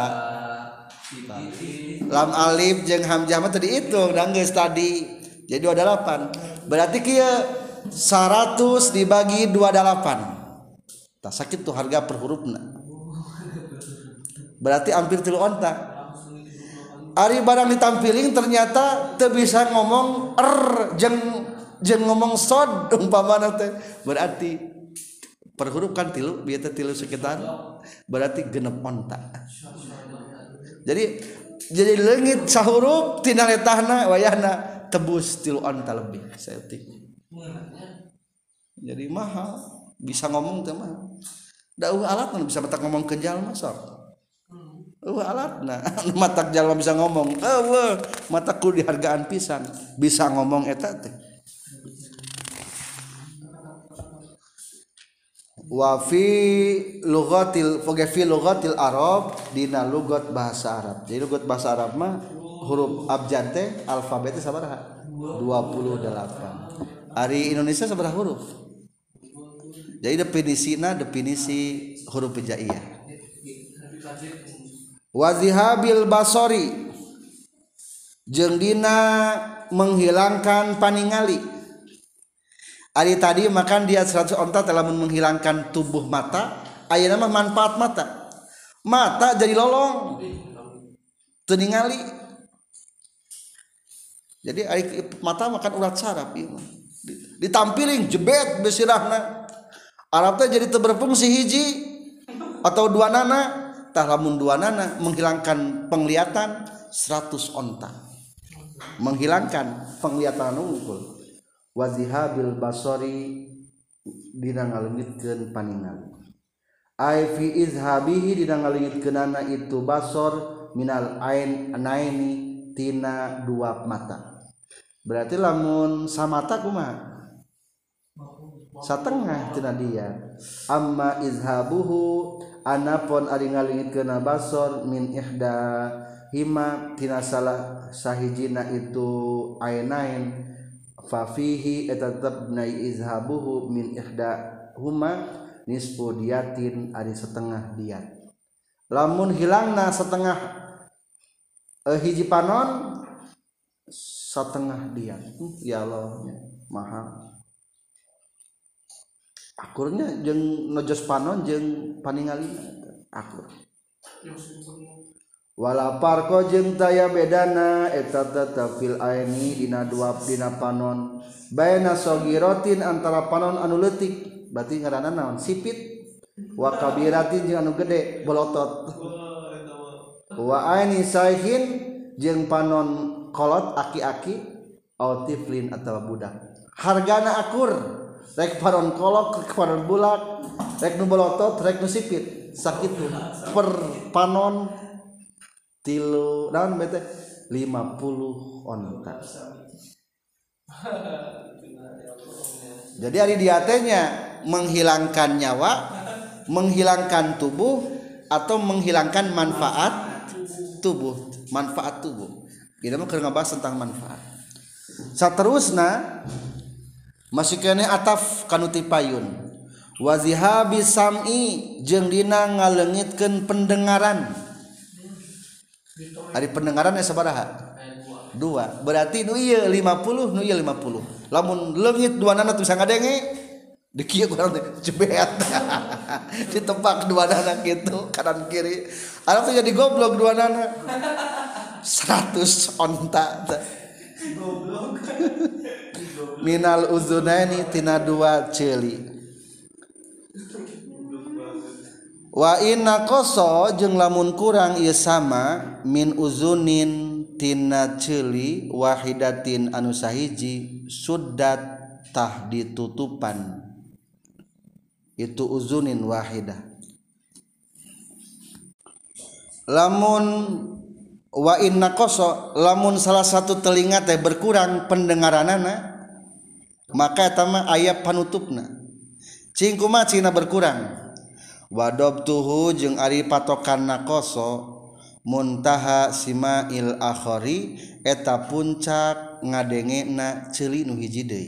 Lam alif jeung hamzah mah tadi itu dan geus tadi jadi dua puluh delapan. Berarti kieu seratus dibagi dua puluh delapan. Tah sakit tuh harga per hurufna. Berarti hampir tilu onta. Ari barang ditampiling ternyata teu bisa ngomong er jeung jeung ngomong sod umpamana teh berarti per huruf kan tilu bieu teh tilu sekitar berarti genep onta. Jadi jadi leungit sahuruf tina letahna wayahna tebus tilu onta lebih saeutik. Jadi mahal bisa ngomong teh mah. Da eueuh alatna bisa matak ngomong ke jalma sok. Uh alatna matak jalma bisa ngomong eueuh matak kudu dihargaan pisan bisa ngomong eta teh. Wa fi lughatil fa fi lughatil arab dina lugat bahasa Arab. Jadi lugat bahasa Arab mah huruf abjad teh alfabetnya sabaraha? dua puluh delapan. Ari Indonesia sabaraha huruf? Jadi definisina definisi huruf hijaiyah. Wa zihabil basori jeung dina menghilangkan paningali. Ari tadi makan dia seratus onta telah menghilangkan tubuh mata, ayeuna mah manfaat mata. Mata jadi lolong. Teu ningali. Jadi ari mata makan urat saraf ieu mah. Ditampiling jebet besirahna. Arab teh jadi teu berfungsi hiji atau dua nana. Tah lamun dua nana menghilangkan penglihatan seratus onta. Menghilangkan penglihatan unggul. Wa zihabil basori dina ngaleungitkeun paningali. Ai fi izhabihi dina ngaleungitkeunana itu basor minal ain anaini tina dua mata. Berarti lamun samata kumaha? Satengah tina dia. Amma izhabuhu anapun ari ngalingitkeun basor min ihda hima tina salah sahijina itu ainain fa fihi eta tetep nai izhabuhu min ihda huma nisfu diyatin ari setengah diat. Lamun hilangna setengah eh, hiji panon setengah diat. Ya Allah mahal. Akurnya jeung nojos panon jeung paningalina akur. Wala parko jeung taya bedana eta tetep fil aini dina dua dina panon baina sogiratin antara panon anu leutik berarti ngaranna naon sipit wa kabiratin jeung anu gede bolotot wa aini saihin jeung panon kolot aki-aki au tiflin atawa budak hargana akur rek panon kolot rek panon bulak rek nu bolotot rek nu sipit sakitu per panon tilu naon bete lima puluh onta. Jadi ari diatenya menghilangkan nyawa, menghilangkan tubuh atau menghilangkan manfaat tubuh, manfaat tubuh. Kita mah keur ngabahas tentang manfaat. Saterusna masih kene ataf kanu ti payun. Wa zihabi sam'i jeung dina ngaleungitkeun pendengaran. Ari pendengaran aya sabaraha? dua berarti nu ieu lima puluh nu ieu lima puluh lamun leungit duanana tuh bisa ngadenge di kieu kurang teh jebet ditebak duanana kitu kanan kiri anu tuh jadi goblok duanana seratus onta goblok minal uzunaini tina dua ceuli wa inna qoso jeung lamun kurang ieu sama min uzunin tina ceuli wahidatin anu sahiji suddat tah ditutupan itu uzunin wahidah lamun wa inna qoso lamun salah satu telinga teh berkurang pendengaranana maka eta mah aya panutupna cing kumaha cina berkurang wadobtuhu jeung ari patokanna qoso muntaha simail akhari eta puncak ngadengena ceuli nu hiji deui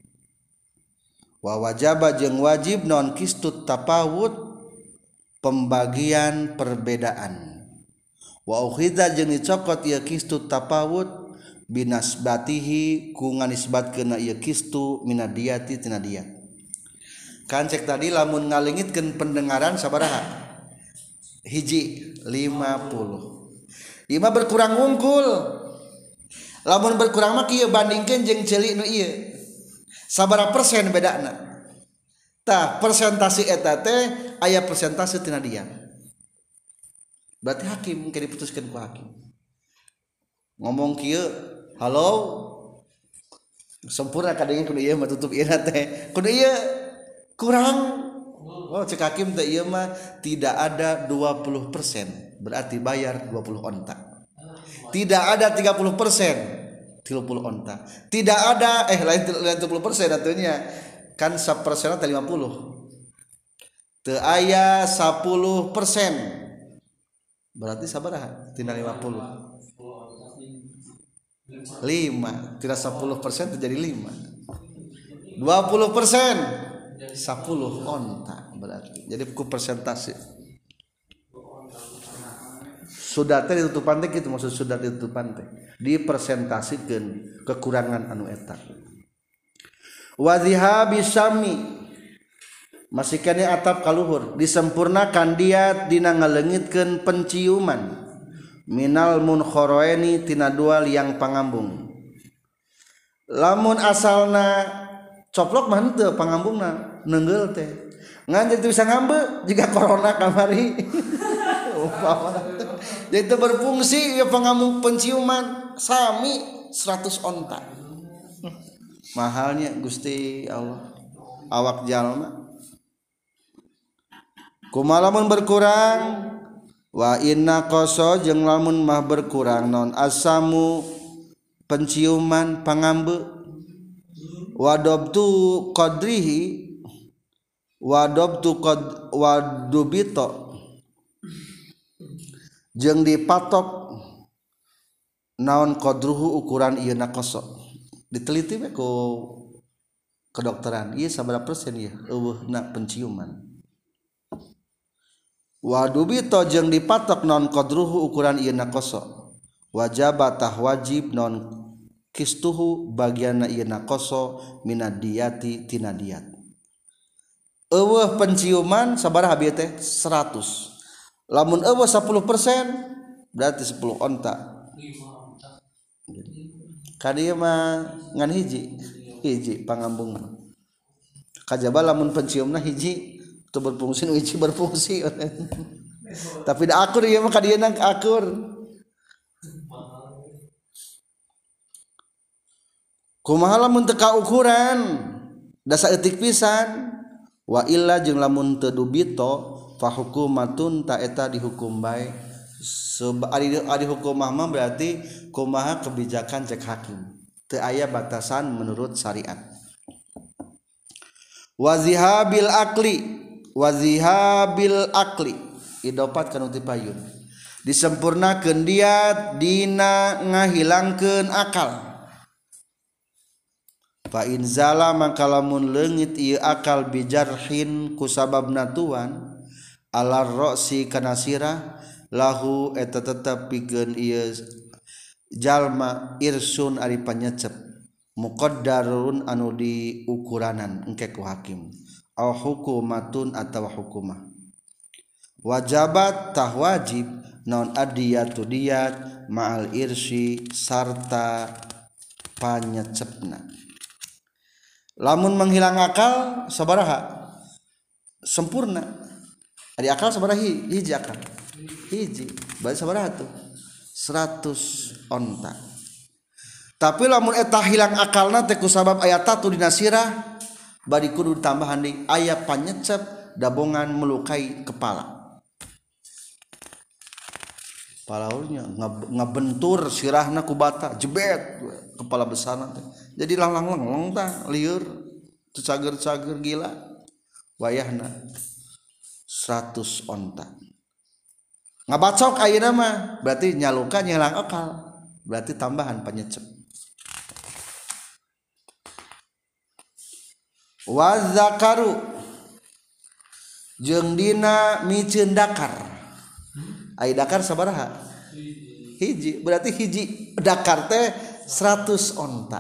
wa wajaba jeung wajib non kistut tafawut pembagian perbedaan wa ukhidza jeung dicokot ieu kistut tafawut binasbatihi ku nganisbatkeun ieu kistu minadiyati tina diyat kan cek tadi lamun ngalengitkeun pendengaran sabaraha hiji lima puluh lima berkurang ngungkul lamun berkurang mah kieu bandingkeun jeung ceuli nu ieu sabaraha persen bedana tah persentase eta teh aya persentase tina dia berarti hakim ke diputuskeun ku hakim ngomong kieu halo sempurna kadenge kudu ieu mah tutup ieu teh kudu ieu kurang oh cek hakim teh ieu mah tidak ada dua puluh persen berarti bayar dua puluh onta tidak ada tiga puluh persen tiga puluh onta tidak ada eh lain tiga puluh persen atunya kan sapersen teh lima puluh teu aya sepuluh persen berarti sabaraha tina lima puluh lima tidak sepuluh persen terjadi lima dua puluh persen sepuluh onta berarti jadi ku persentase sudah teh ditutupan teh kitu maksud sudah ditutupan teh dipersentasikeun kekurangan anu eta wa dzihabi sami masih kene atap kaluhur disempurnakan dia dina ngaleungitkeun penciuman minal munkharaini tina dua liang pangambung lamun asalna coplok mah henteu pangambungna neungeul teh ngan jadi bisa ngambe jika corona kamari umpama jadi itu berfungsi ya pengambung penciuman sami seratus onta mahalnya Gusti Allah awak jalma kumaha lamun berkurang wa inna qoso jeung lamun mah berkurang non asamu penciuman pangambe wadobtu qadrihi wadobtu qad wadubito jeung dipatok naon qadruhu ukuran ieu naqasa diteliti we ku kedokteran ieu sabaraha persen ieu eueuhna penciuman wadubito jeung dipatok naon qadruhu ukuran ieu naqasa wajaba tah wajib naon kistuhu bagianna ieu naqasa minadiyati tina diyat eueuh penciuman sabaraha bieu teh seratus lamun eueuh sepuluh persen berarti sepuluh onta kan ieu mah ngan hiji hiji pangambung kajaba lamun penciumna hiji teu berfungsi nu hiji berfungsi tapi da akur ieu mah kadieuna akur kumaha lamun teu kaukuran da saeutik pisan wa illa jeung lamun teu dubito fa hukumatun ta eta dihukum bae ari ari hukumah mah berarti kumaha kebijakan cek hakim teu aya batasan menurut syariat wa zihabil akli wa zihabil akli idopat kana tipayun disempurnakeun dia dina ngahilangkeun akal fa in zala maka lamun leungit ieu akal bijarhin ku sababna tuan alar roksi kana sirah lahu eta tetep pikeun ieu jalma irsun ari panyecep muqaddarun anu diukuranan engke ku hakim aw hukumatun atawa hukumah wajabat tah wajib naon adiyatu diyat ma'al irsi sarta panyecepna lamun menghilang akal sabaraha sempurna ari akal sabaraha hiji akal hiji berarti sabaraha tuh seratus onta tapi lamun eta hilang akalna teh ku sabab aya tatu dina sirah bari kudu tambahan deui aya panyecep dabongan melukai kepala palaunya ngabentur sirahna ku bata jebet kepala besarna teh jadi langlang-langlang tah lieur teu cager-cager gila wayahna seratus onta ngabacok ayeuna mah berarti nyaluka nyilang akal berarti tambahan panyecep wa zakaru jeung dina miceun dakar ai dakar sabaraha hiji berarti hiji dakar teh seratus onta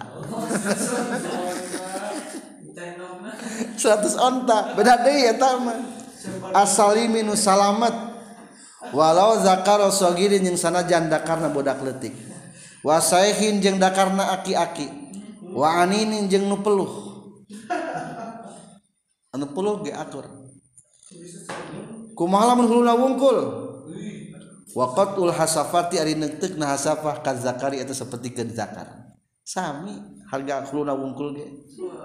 seratus onta beda deui eta mah asali minu salamat walau zakaro sagirin jeung sanajan dakarna budak leutik wa saihin jeung dakarna aki-aki wa aninin jeung nu peluh anu peluh ge atur kumaha lamun huluna wungkul waqatul hasafati ari neuteukna hasafah ka zakari eta sapertikeun zakar sami harga huluna wungkul ge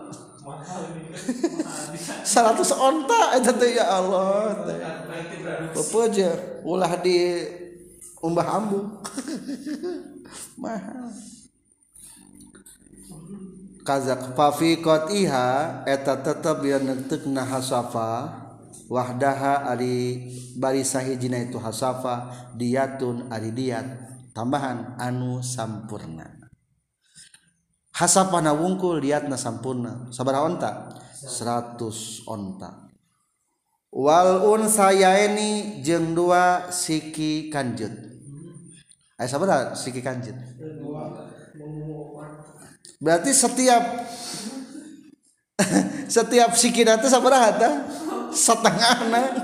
seratus onta eta teh ya Allah teh pepeuje ulah di umbah ambu mahal kazak fafiqat iha eta tetep biar neuteukna hasafa wahdaha ari bari sahijina itu hasafa diyatun ari diyat tambahan anu sampurna hasapana wungkul diyatna sampurna sabaraha onta seratus onta wal unsayaini jeung dua siki kanjeut aya sabaraha siki kanjeut berarti setiap setiap sikina teh sabaraha tah setengahna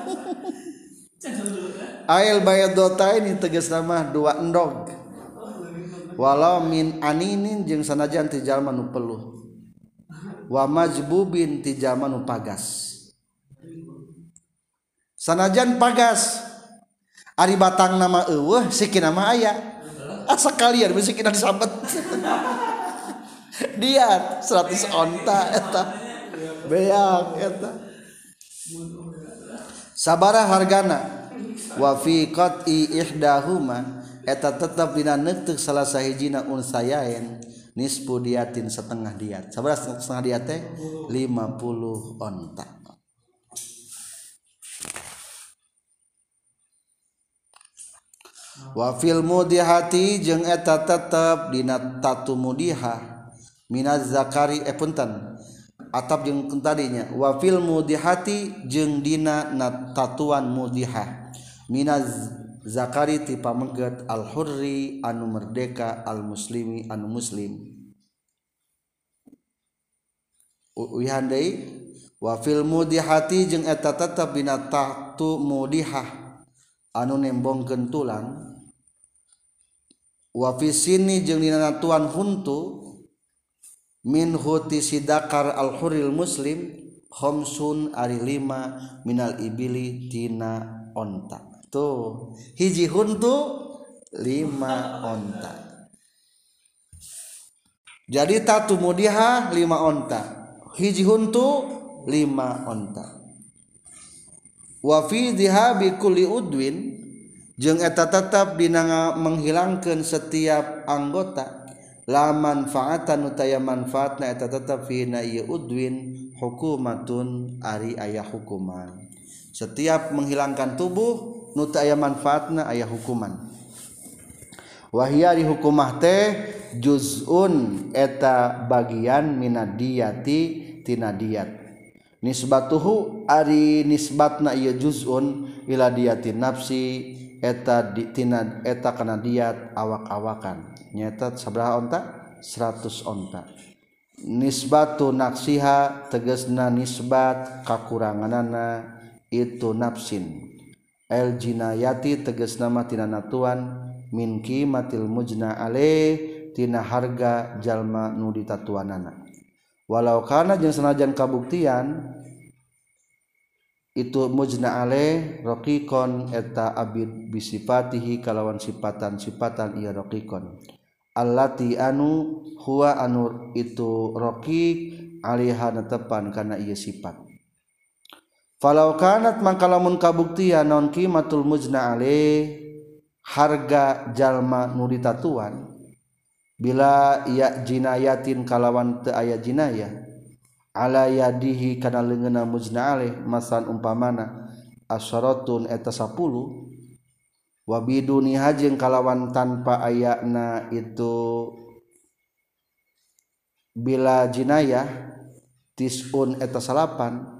ail bayadota ini tegasna mah dua endog walau min aninin jeung sanajan ti jalma nu peluh wa majbubin ti jalma nu pagas sanajan pagas ari batang nama eueuh sikina mah aya asa kalian sikina disabet diat seratus onta eta beak eta sabara hargana wa fi qat'i ihdahuma eta tetep dina neuteuk salah sahijina unsayain nisfu diatin setengah diat sabara setengah diat teh lima puluh onta wa fil mudihati jeung eta tetep dina tatu mudihah minaz zakari eh punten atap jeung tadinya wa fil mudihati jeung dina natatuan mudihah minaz zakari ti pamengget al hurri anu merdeka al muslimi anu muslim uihan deui wa fil mudihati jeung eta tetep dina tatu mudihah anu nembongkeun tulang wa fi sini jeung dina natuan huntu min huti sidakar al huril muslim khamsun ari lima minal ibili tina onta tuh hiji huntu lima onta jadi tatu mudiha lima onta hiji huntu lima onta wa fi dhihabi kulli udwin jeung eta tetep dina menghilangkeun setiap anggota la manfaatan utaya manfaatna eta tetep fina ieu udwin hukumatun ari aya hukuman setiap menghilangkan tubuh nu teu aya manfaatna aya hukuman wahia di hukumah teh juz'un eta bagian minadiyati tina diyat nisbatuhu ari nisbatna ieu juz'un ila diyati nafsi eta tina eta kana diat awak-awakan nyata sabaraha onta seratus onta. Nisbatu naksiha tegasna nisbat kakuranganana itu nafsin. El jinayati tegasna mah tina natuan min qimatil mujna alaih tina harga jalma nu ditatuanana. Walau kana jeung sanajan kabuktian itu mujna alaih raqiqon eta abid bisifatihi kalawan sifatan-sifatan ieu raqiqon. Allati anu huwa anu itu raqiq alaiha netepan kana ieu sifat. Falau kanat mangkalamun kabuktian non qimatul mujna alaih harga jalma nu ditatuan bila ya jinayatin kalawan teu aya jinayah ala yadihi kana leungeunna mujna alaih masan umpamana asyaratun eta sepuluh wa biduni hajeng kalawan tanpa ayana itu bila jinayah tisun eta salapan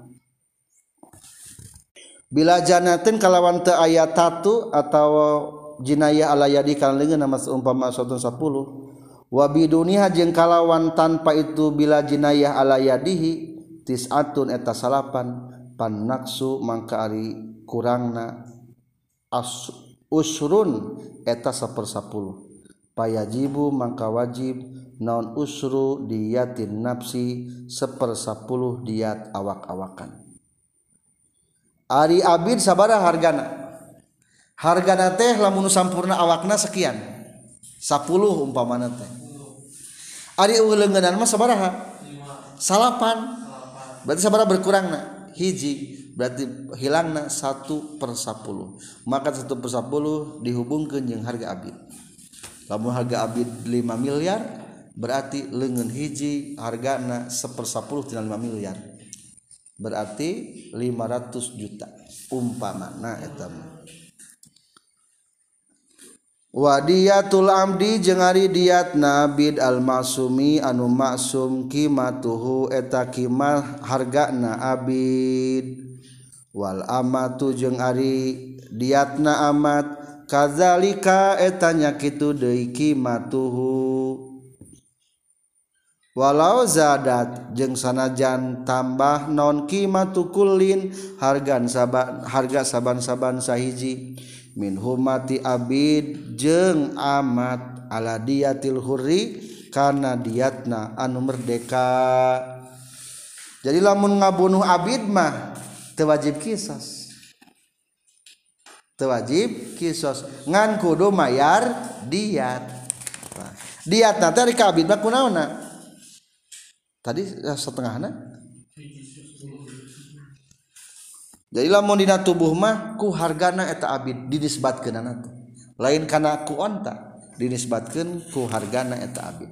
bila janatin kalawan teu aya tatu atau jinayah ala yadi kana leungeunna mas umpama asyaratun sepuluh wa biduniha jeung kalawan tanpa itu bila jinayah ala yadihi tis'atun eta salapan pannaksu mangka ari kurangna as usrun eta sapersapuluh payajibu mangka wajib naon usru diyatin nafsi sepersapuluh diat awak-awakan. Ari abid sabaraha hargana? Hargana teh lamun sampurna awakna sekian sepuluh umpamana teh. Ari leungeunana mah sabaraha? Salapan. Berarti sabaraha berkurangna? Hiji. Berarti hilangna satu per sepuluh. Maka satu per sepuluh dihubungkeun jeung harga abid. Lamun harga abid lima miliar berarti leungeun hiji hargana sepersepuluh tina lima miliar. Berarti lima ratus juta umpamana eta mah. Wadiyatul amdi jeung ari diatna bid al masumi anu maksum qimatuhu eta qimah hargana abid wal amatu jeung ari diatna amat kadzalika eta nya kitu deui qimatuhu walau zadat jeung sanajan tambah non qimatu kullin hargan saban harga saban-saban sahiji min humati abid jeung amat ala diatil hurri kana diatna anu merdeka. Jadi lamun ngabunuh abid mah teu wajib qisas. Teu wajib qisas ngan kudu mayar diat. Diatna teh ari ka abid mah kunaonna? Tadi setengahna. Jadi lamun dina tubuh mah ku hargana eta abid dinisbatkeunana teh. Lain kana ku onta dinisbatkeun ku hargana eta abid.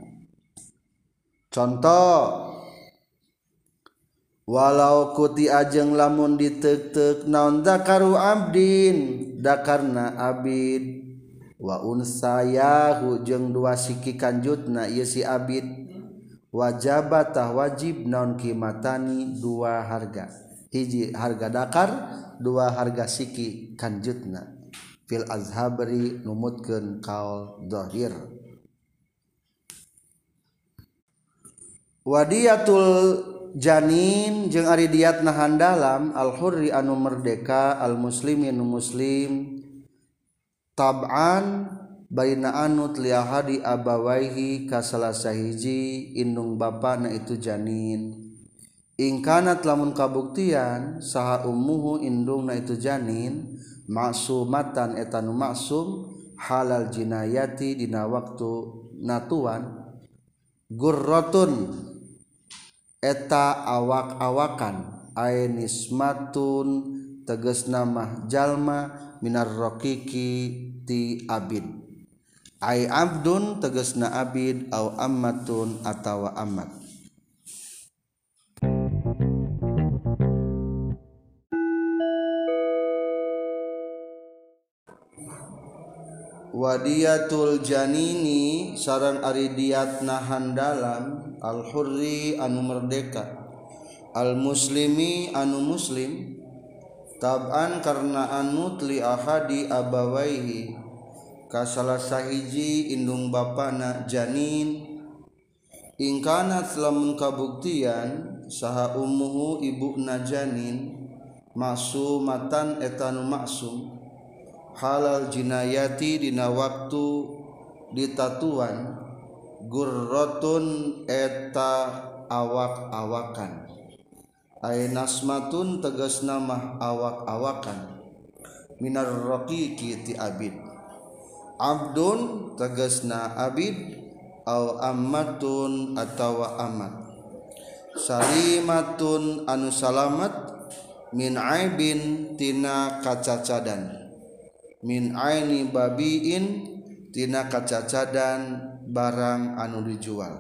Contoh walau kuti ajeng lamun diteuk-teuk naon zakaru abdin dakarna abid wa unsayahu jeung dua siki kanjutna ieu si abid wajabatah wajib naon qimatani dua harga. Hiji harga dakar dua harga siki kanjutna fil azhabri numutkeun kaul zahir. Wadiyatul janin jeung ari diatna handalam al hurri anu merdeka al muslimi anu muslim tab'an baina anut liahadi abawaihi ka salah sahiji indung bapana itu janin. Ingkanat lamun kabuktian saha ummuhu indungna itu janin maksumatan eta nu maksum halal jinayati dina waktu natuan gurratun eta awak-awakan ainismatun tegasna mah jalma minar raqiqi ti abid ai abdun tegasna abid au ammatun atawa ammat. Wadiyatul janini sareng ari diatna handalam al hurri anu merdeka al muslimi anu muslim tab'an karena anut li ahadi abawaihi ka salah sahiji indung bapana janin ingkanat lamun kabuktian saha ummuhu ibuna janin maksumatan etanu maksum halal jinayati dina waktu ditatuan gurratun eta awak-awakan ay nasmatun tegasna mah awak-awakan minar raqiqi ti abid abdun tegasna abid au ammatun atawa amat salimatun anu salamat min aibin tina kacacadan min aini babiin tina kacacadan barang anu dijual.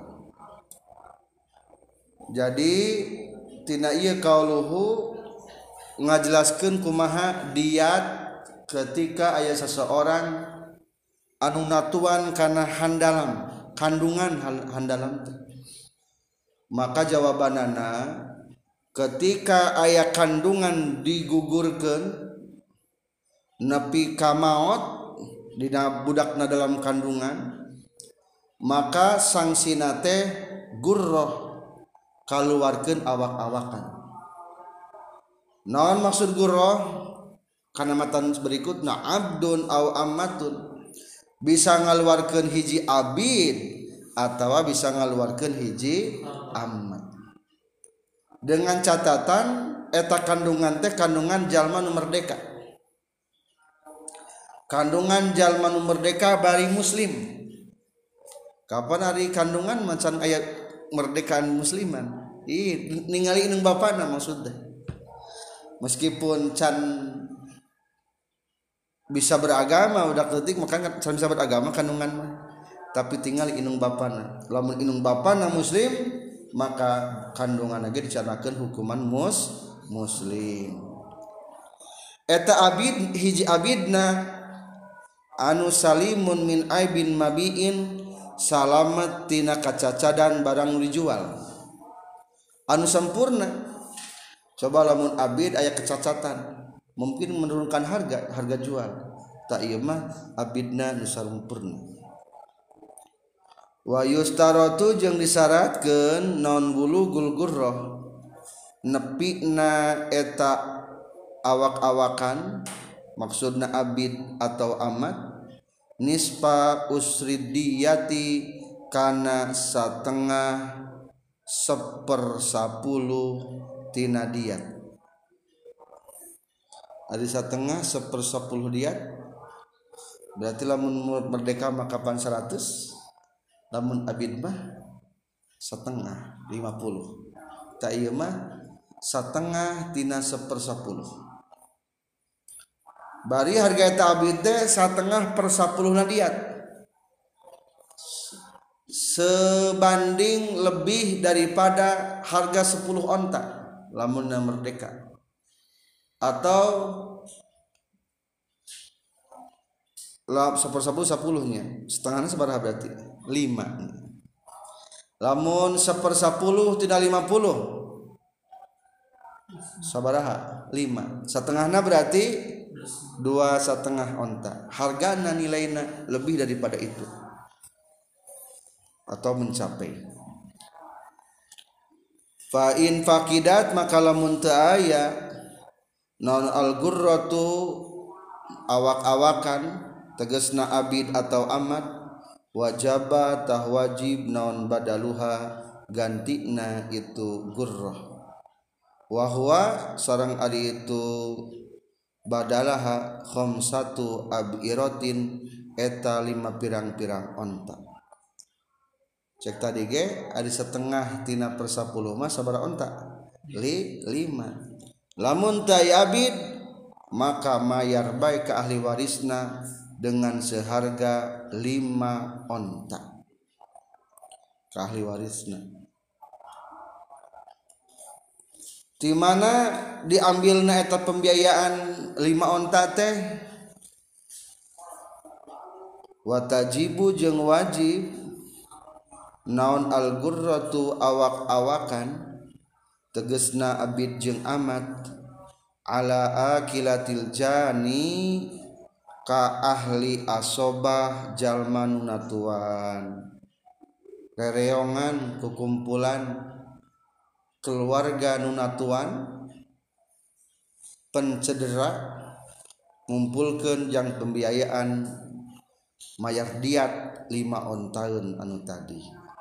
Jadi tina ieu kauluhu ngajelaskeun kumaha diat ketika aya seseorang anu natuan kana handalam kandungan handalam. Maka jawabanana ketika aya kandungan digugurkeun nepi ka maot dina budakna dalam kandungan maka sangsina teh gurroh kaluarkeun awak-awakan. Naon maksud gurroh? Kana matan berikutna abdun au ammatun bisa ngaluarkeun hiji abid atawa bisa ngaluarkeun hiji ammat. Dengan catatan eta kandungan teh kandungan jalma nu merdeka. Kandungan jalma nu merdeka bari muslim. Kapan hari kandungan macan aya merdekaan musliman? Ih ningali inung bapana maksudnya. Meskipun can bisa beragama udah ketik maka can bisa beragama kandungan mah. Tapi tinggal inung bapana. Lamun inung bapana muslim maka kandungan lagi dicanakeun hukuman mus muslim. Eta abid hiji abidna anu salimun min aibin mabiin salamet tina kacacadan barang dijual anu sempurna. Coba lamun abid aya kecacatan mungkin menurunkan harga harga jual tak ieu mah abidna nu sempurna. Wa yustaratu jeung disyaratkeun naon bulughul gurrah nepina eta awak-awakan maksudna abid atau amat nispa usridiyati kana satengah sepersapuluh tina diat. Ada satengah sepersapuluh diat berarti lamun merdeka maka pan seratus, lamun abid mah setengah lima puluh. Tak ieu mah setengah tina sepersapuluh. Bari harga eta abid teh setengah per sepuluh diat. Sebanding lebih daripada harga sepuluh onta lamun merdeka. Atau sepersepuluh sepuluhnya setengahnya seberapa berarti lima. Lamun sepersepuluh tidak lima puluh sabaraha lima setengahnya berarti dua setengah onta. Hargana nilainya lebih daripada itu atau mencapai. Fa in faqidat maka lamun teu aya non al gurratu awak-awakan tegasna abid atau amat wajaba tah wajib naon badaluha gantina itu gurrah wa huwa sareng ari itu badalaha khamsatu abiratin eta lima pirang-pirang onta. Cek tadi ge ada setengah tina per sepuluh mah sabaraha onta? Li, lima. Lamun tay abid maka mayar baik ke ahli warisna dengan seharga lima onta ke ahli warisna. Di mana diambilna eta pembiayaan lima onta teh watajibu jeung wajib naon al gurratu awak-awakan tegesna abid jeung amat ala akilatil jani ka ahli asobah jalma nunatuan rereongan kukumpulan keluarga nunatuan pencedera ngumpulkeun yang pembiayaan mayar diat lima ontaun anu tadi.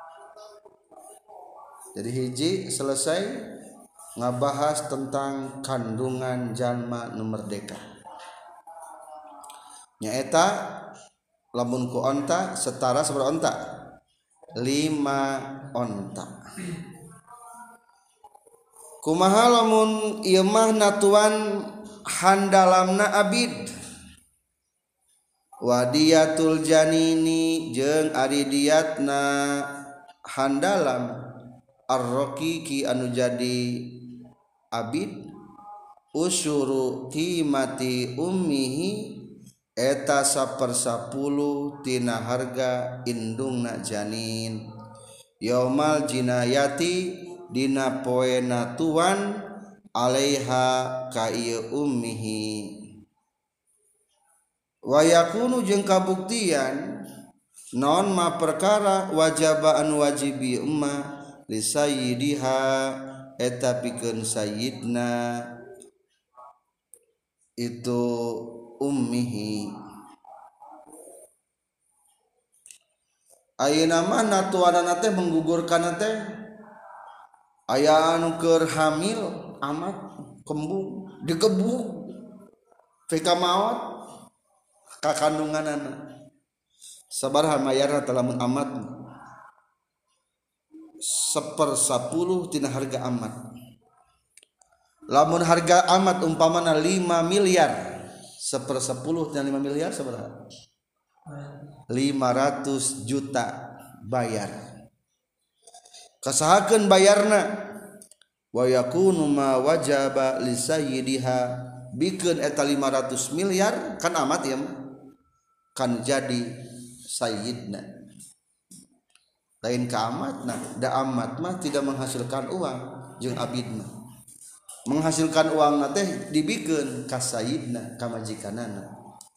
Jadi hiji selesai ngabahas tentang kandungan jalma nu merdeka. Nyaeta lamun ku onta setara sabaraha onta? lima onta. Kumaha lamun ieu mah natuan handalamna abid. Wadiyatul janini jeung ari diatna handalam ar-raqiqi anu jadi abid usyuru qimati ummihi eta sapersapuluh tina harga indungna janin yaumal jinayati dina poena tuan alaiha ka ieu ummihi wa yakunu jeung kabuktian non ma perkara wajaba anu wajibi umma li sayyidiha eta pikeun sayyidna itu ummihi. Ayeuna mah natuanana teh menggugurkan teh aya anu keur hamil amat kembung digebug pika maot ka kandunganana sabaraha mayarna talamun amat sepersapuluh tina harga amat. Lamun harga amat umpamana lima miliar sepersepuluh tina lima miliar sabaraha lima ratus juta bayar kasahakeun bayarna wa yakunu ma wajaba li sayyidiha bikeun eta lima ratus miliar kan amat ya kan jadi sayyidna lain ka amat nah da amat mah tidak menghasilkan uang jeung abid mah menghasilkan uang na teh dibikeun ka sayyidna ka majikanana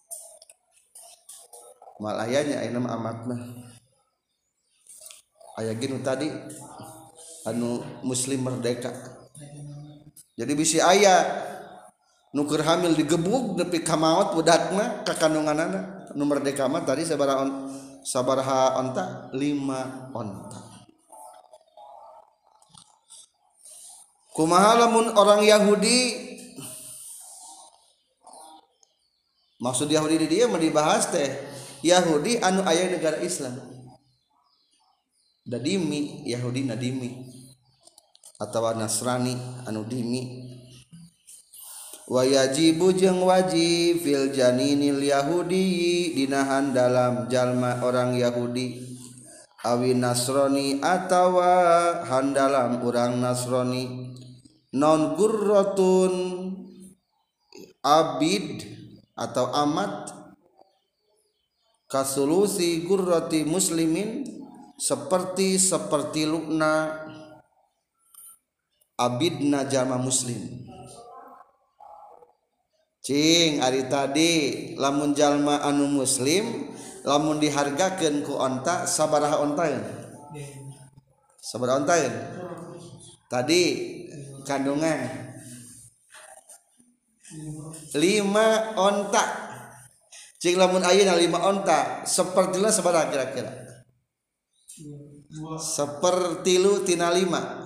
mal ayanya ayeuna mah amat mah aya ginu tadi anu muslim merdeka jadi bisi aya nu keur hamil digebug nepi ka maot budakna ka kandunganana nu merdeka mah tadi sabaraha on, sabaraha onta lima onta. Kumaha lamun orang Yahudi maksud Yahudi di dieu mah dibahas teh Yahudi anu aya negara Islam dadimi Yahudi nadimi atawa Nasrani anu dimi wa yajibu jeung wajib fil janinil yahudi dinahan dalam jalma orang Yahudi awi Nasrani atawa handalam urang Nasrani non gurratun abid atau amat kasulusi gurrati muslimin seperti seperti lukna abidna jalma muslim cing ari tadi lamun jalma anu muslim lamun dihargakeun ku onta sabaraha onta ya sabaraha onta ya tadi kandungan lima onta cing lamun ayeuna lima onta sepertilu sabaraha kira-kira sepertilu tina lima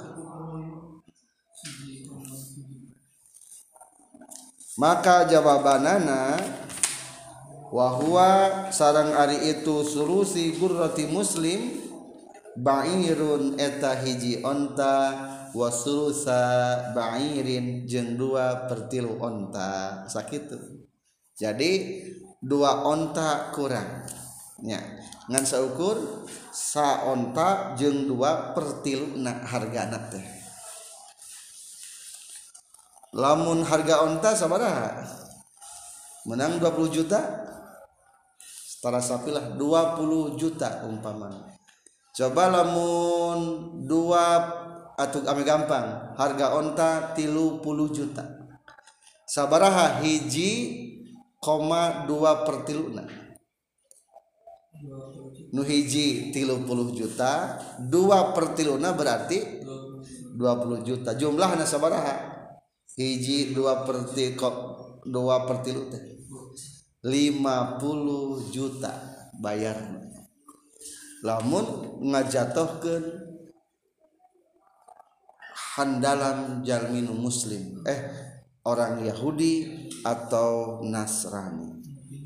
maka jawabanana wahwa sarang ari itu sulusi gurrati muslim ba'irun eta hiji onta wa sulusa ba'irin jeung dua per tilu onta sakitu jadi dua onta kurang nya ngan saukur sa onta jeung dua per tilu na hargana teh lamun harga onta sabaraha menang dua puluh juta setara sapilah dua puluh juta umpamana coba lamun dua atuh ame gampang harga onta tilu puluh juta sabaraha hiji koma dua per tiluna nu hiji tilu puluh juta dua per tiluna berarti dua puluh juta jumlahna sabaraha hiji dua per tilu dua per tilu teh lima puluh juta bayar lamun ngajatohkeun handalan jalminu muslim eh orang Yahudi atau Nasrani.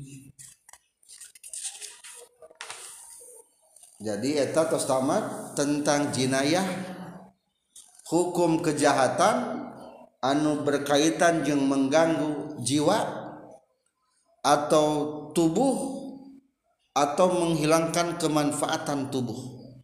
Jadi eta tos tamat tentang jinayah hukum kejahatan anu berkaitan jeung mengganggu jiwa atau tubuh atau menghilangkan kemanfaatan tubuh.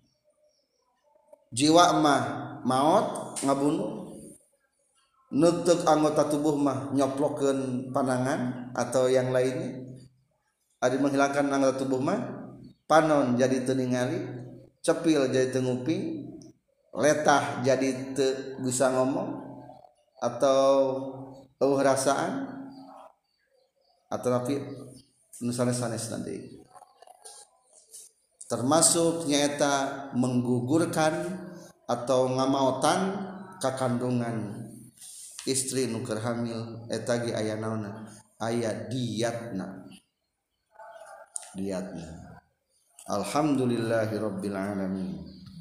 Jiwa mah maot ngabunuh, nutuk anggota tubuh mah nyoplokeun panangan atau yang lainnya. Ari menghilangkan anggota tubuh mah panon jadi teu ningali, cepil jadi teu nguping, letah jadi teu bisa ngomong atau eueuh rasaan atau tapi nu sanes-sanes nanti. Termasuk nyaeta menggugurkan atau ngamaotan kakandungan istri nu keur hamil eta ge aya naonna aya diatna diatna. Alhamdulillahirabbil alamin.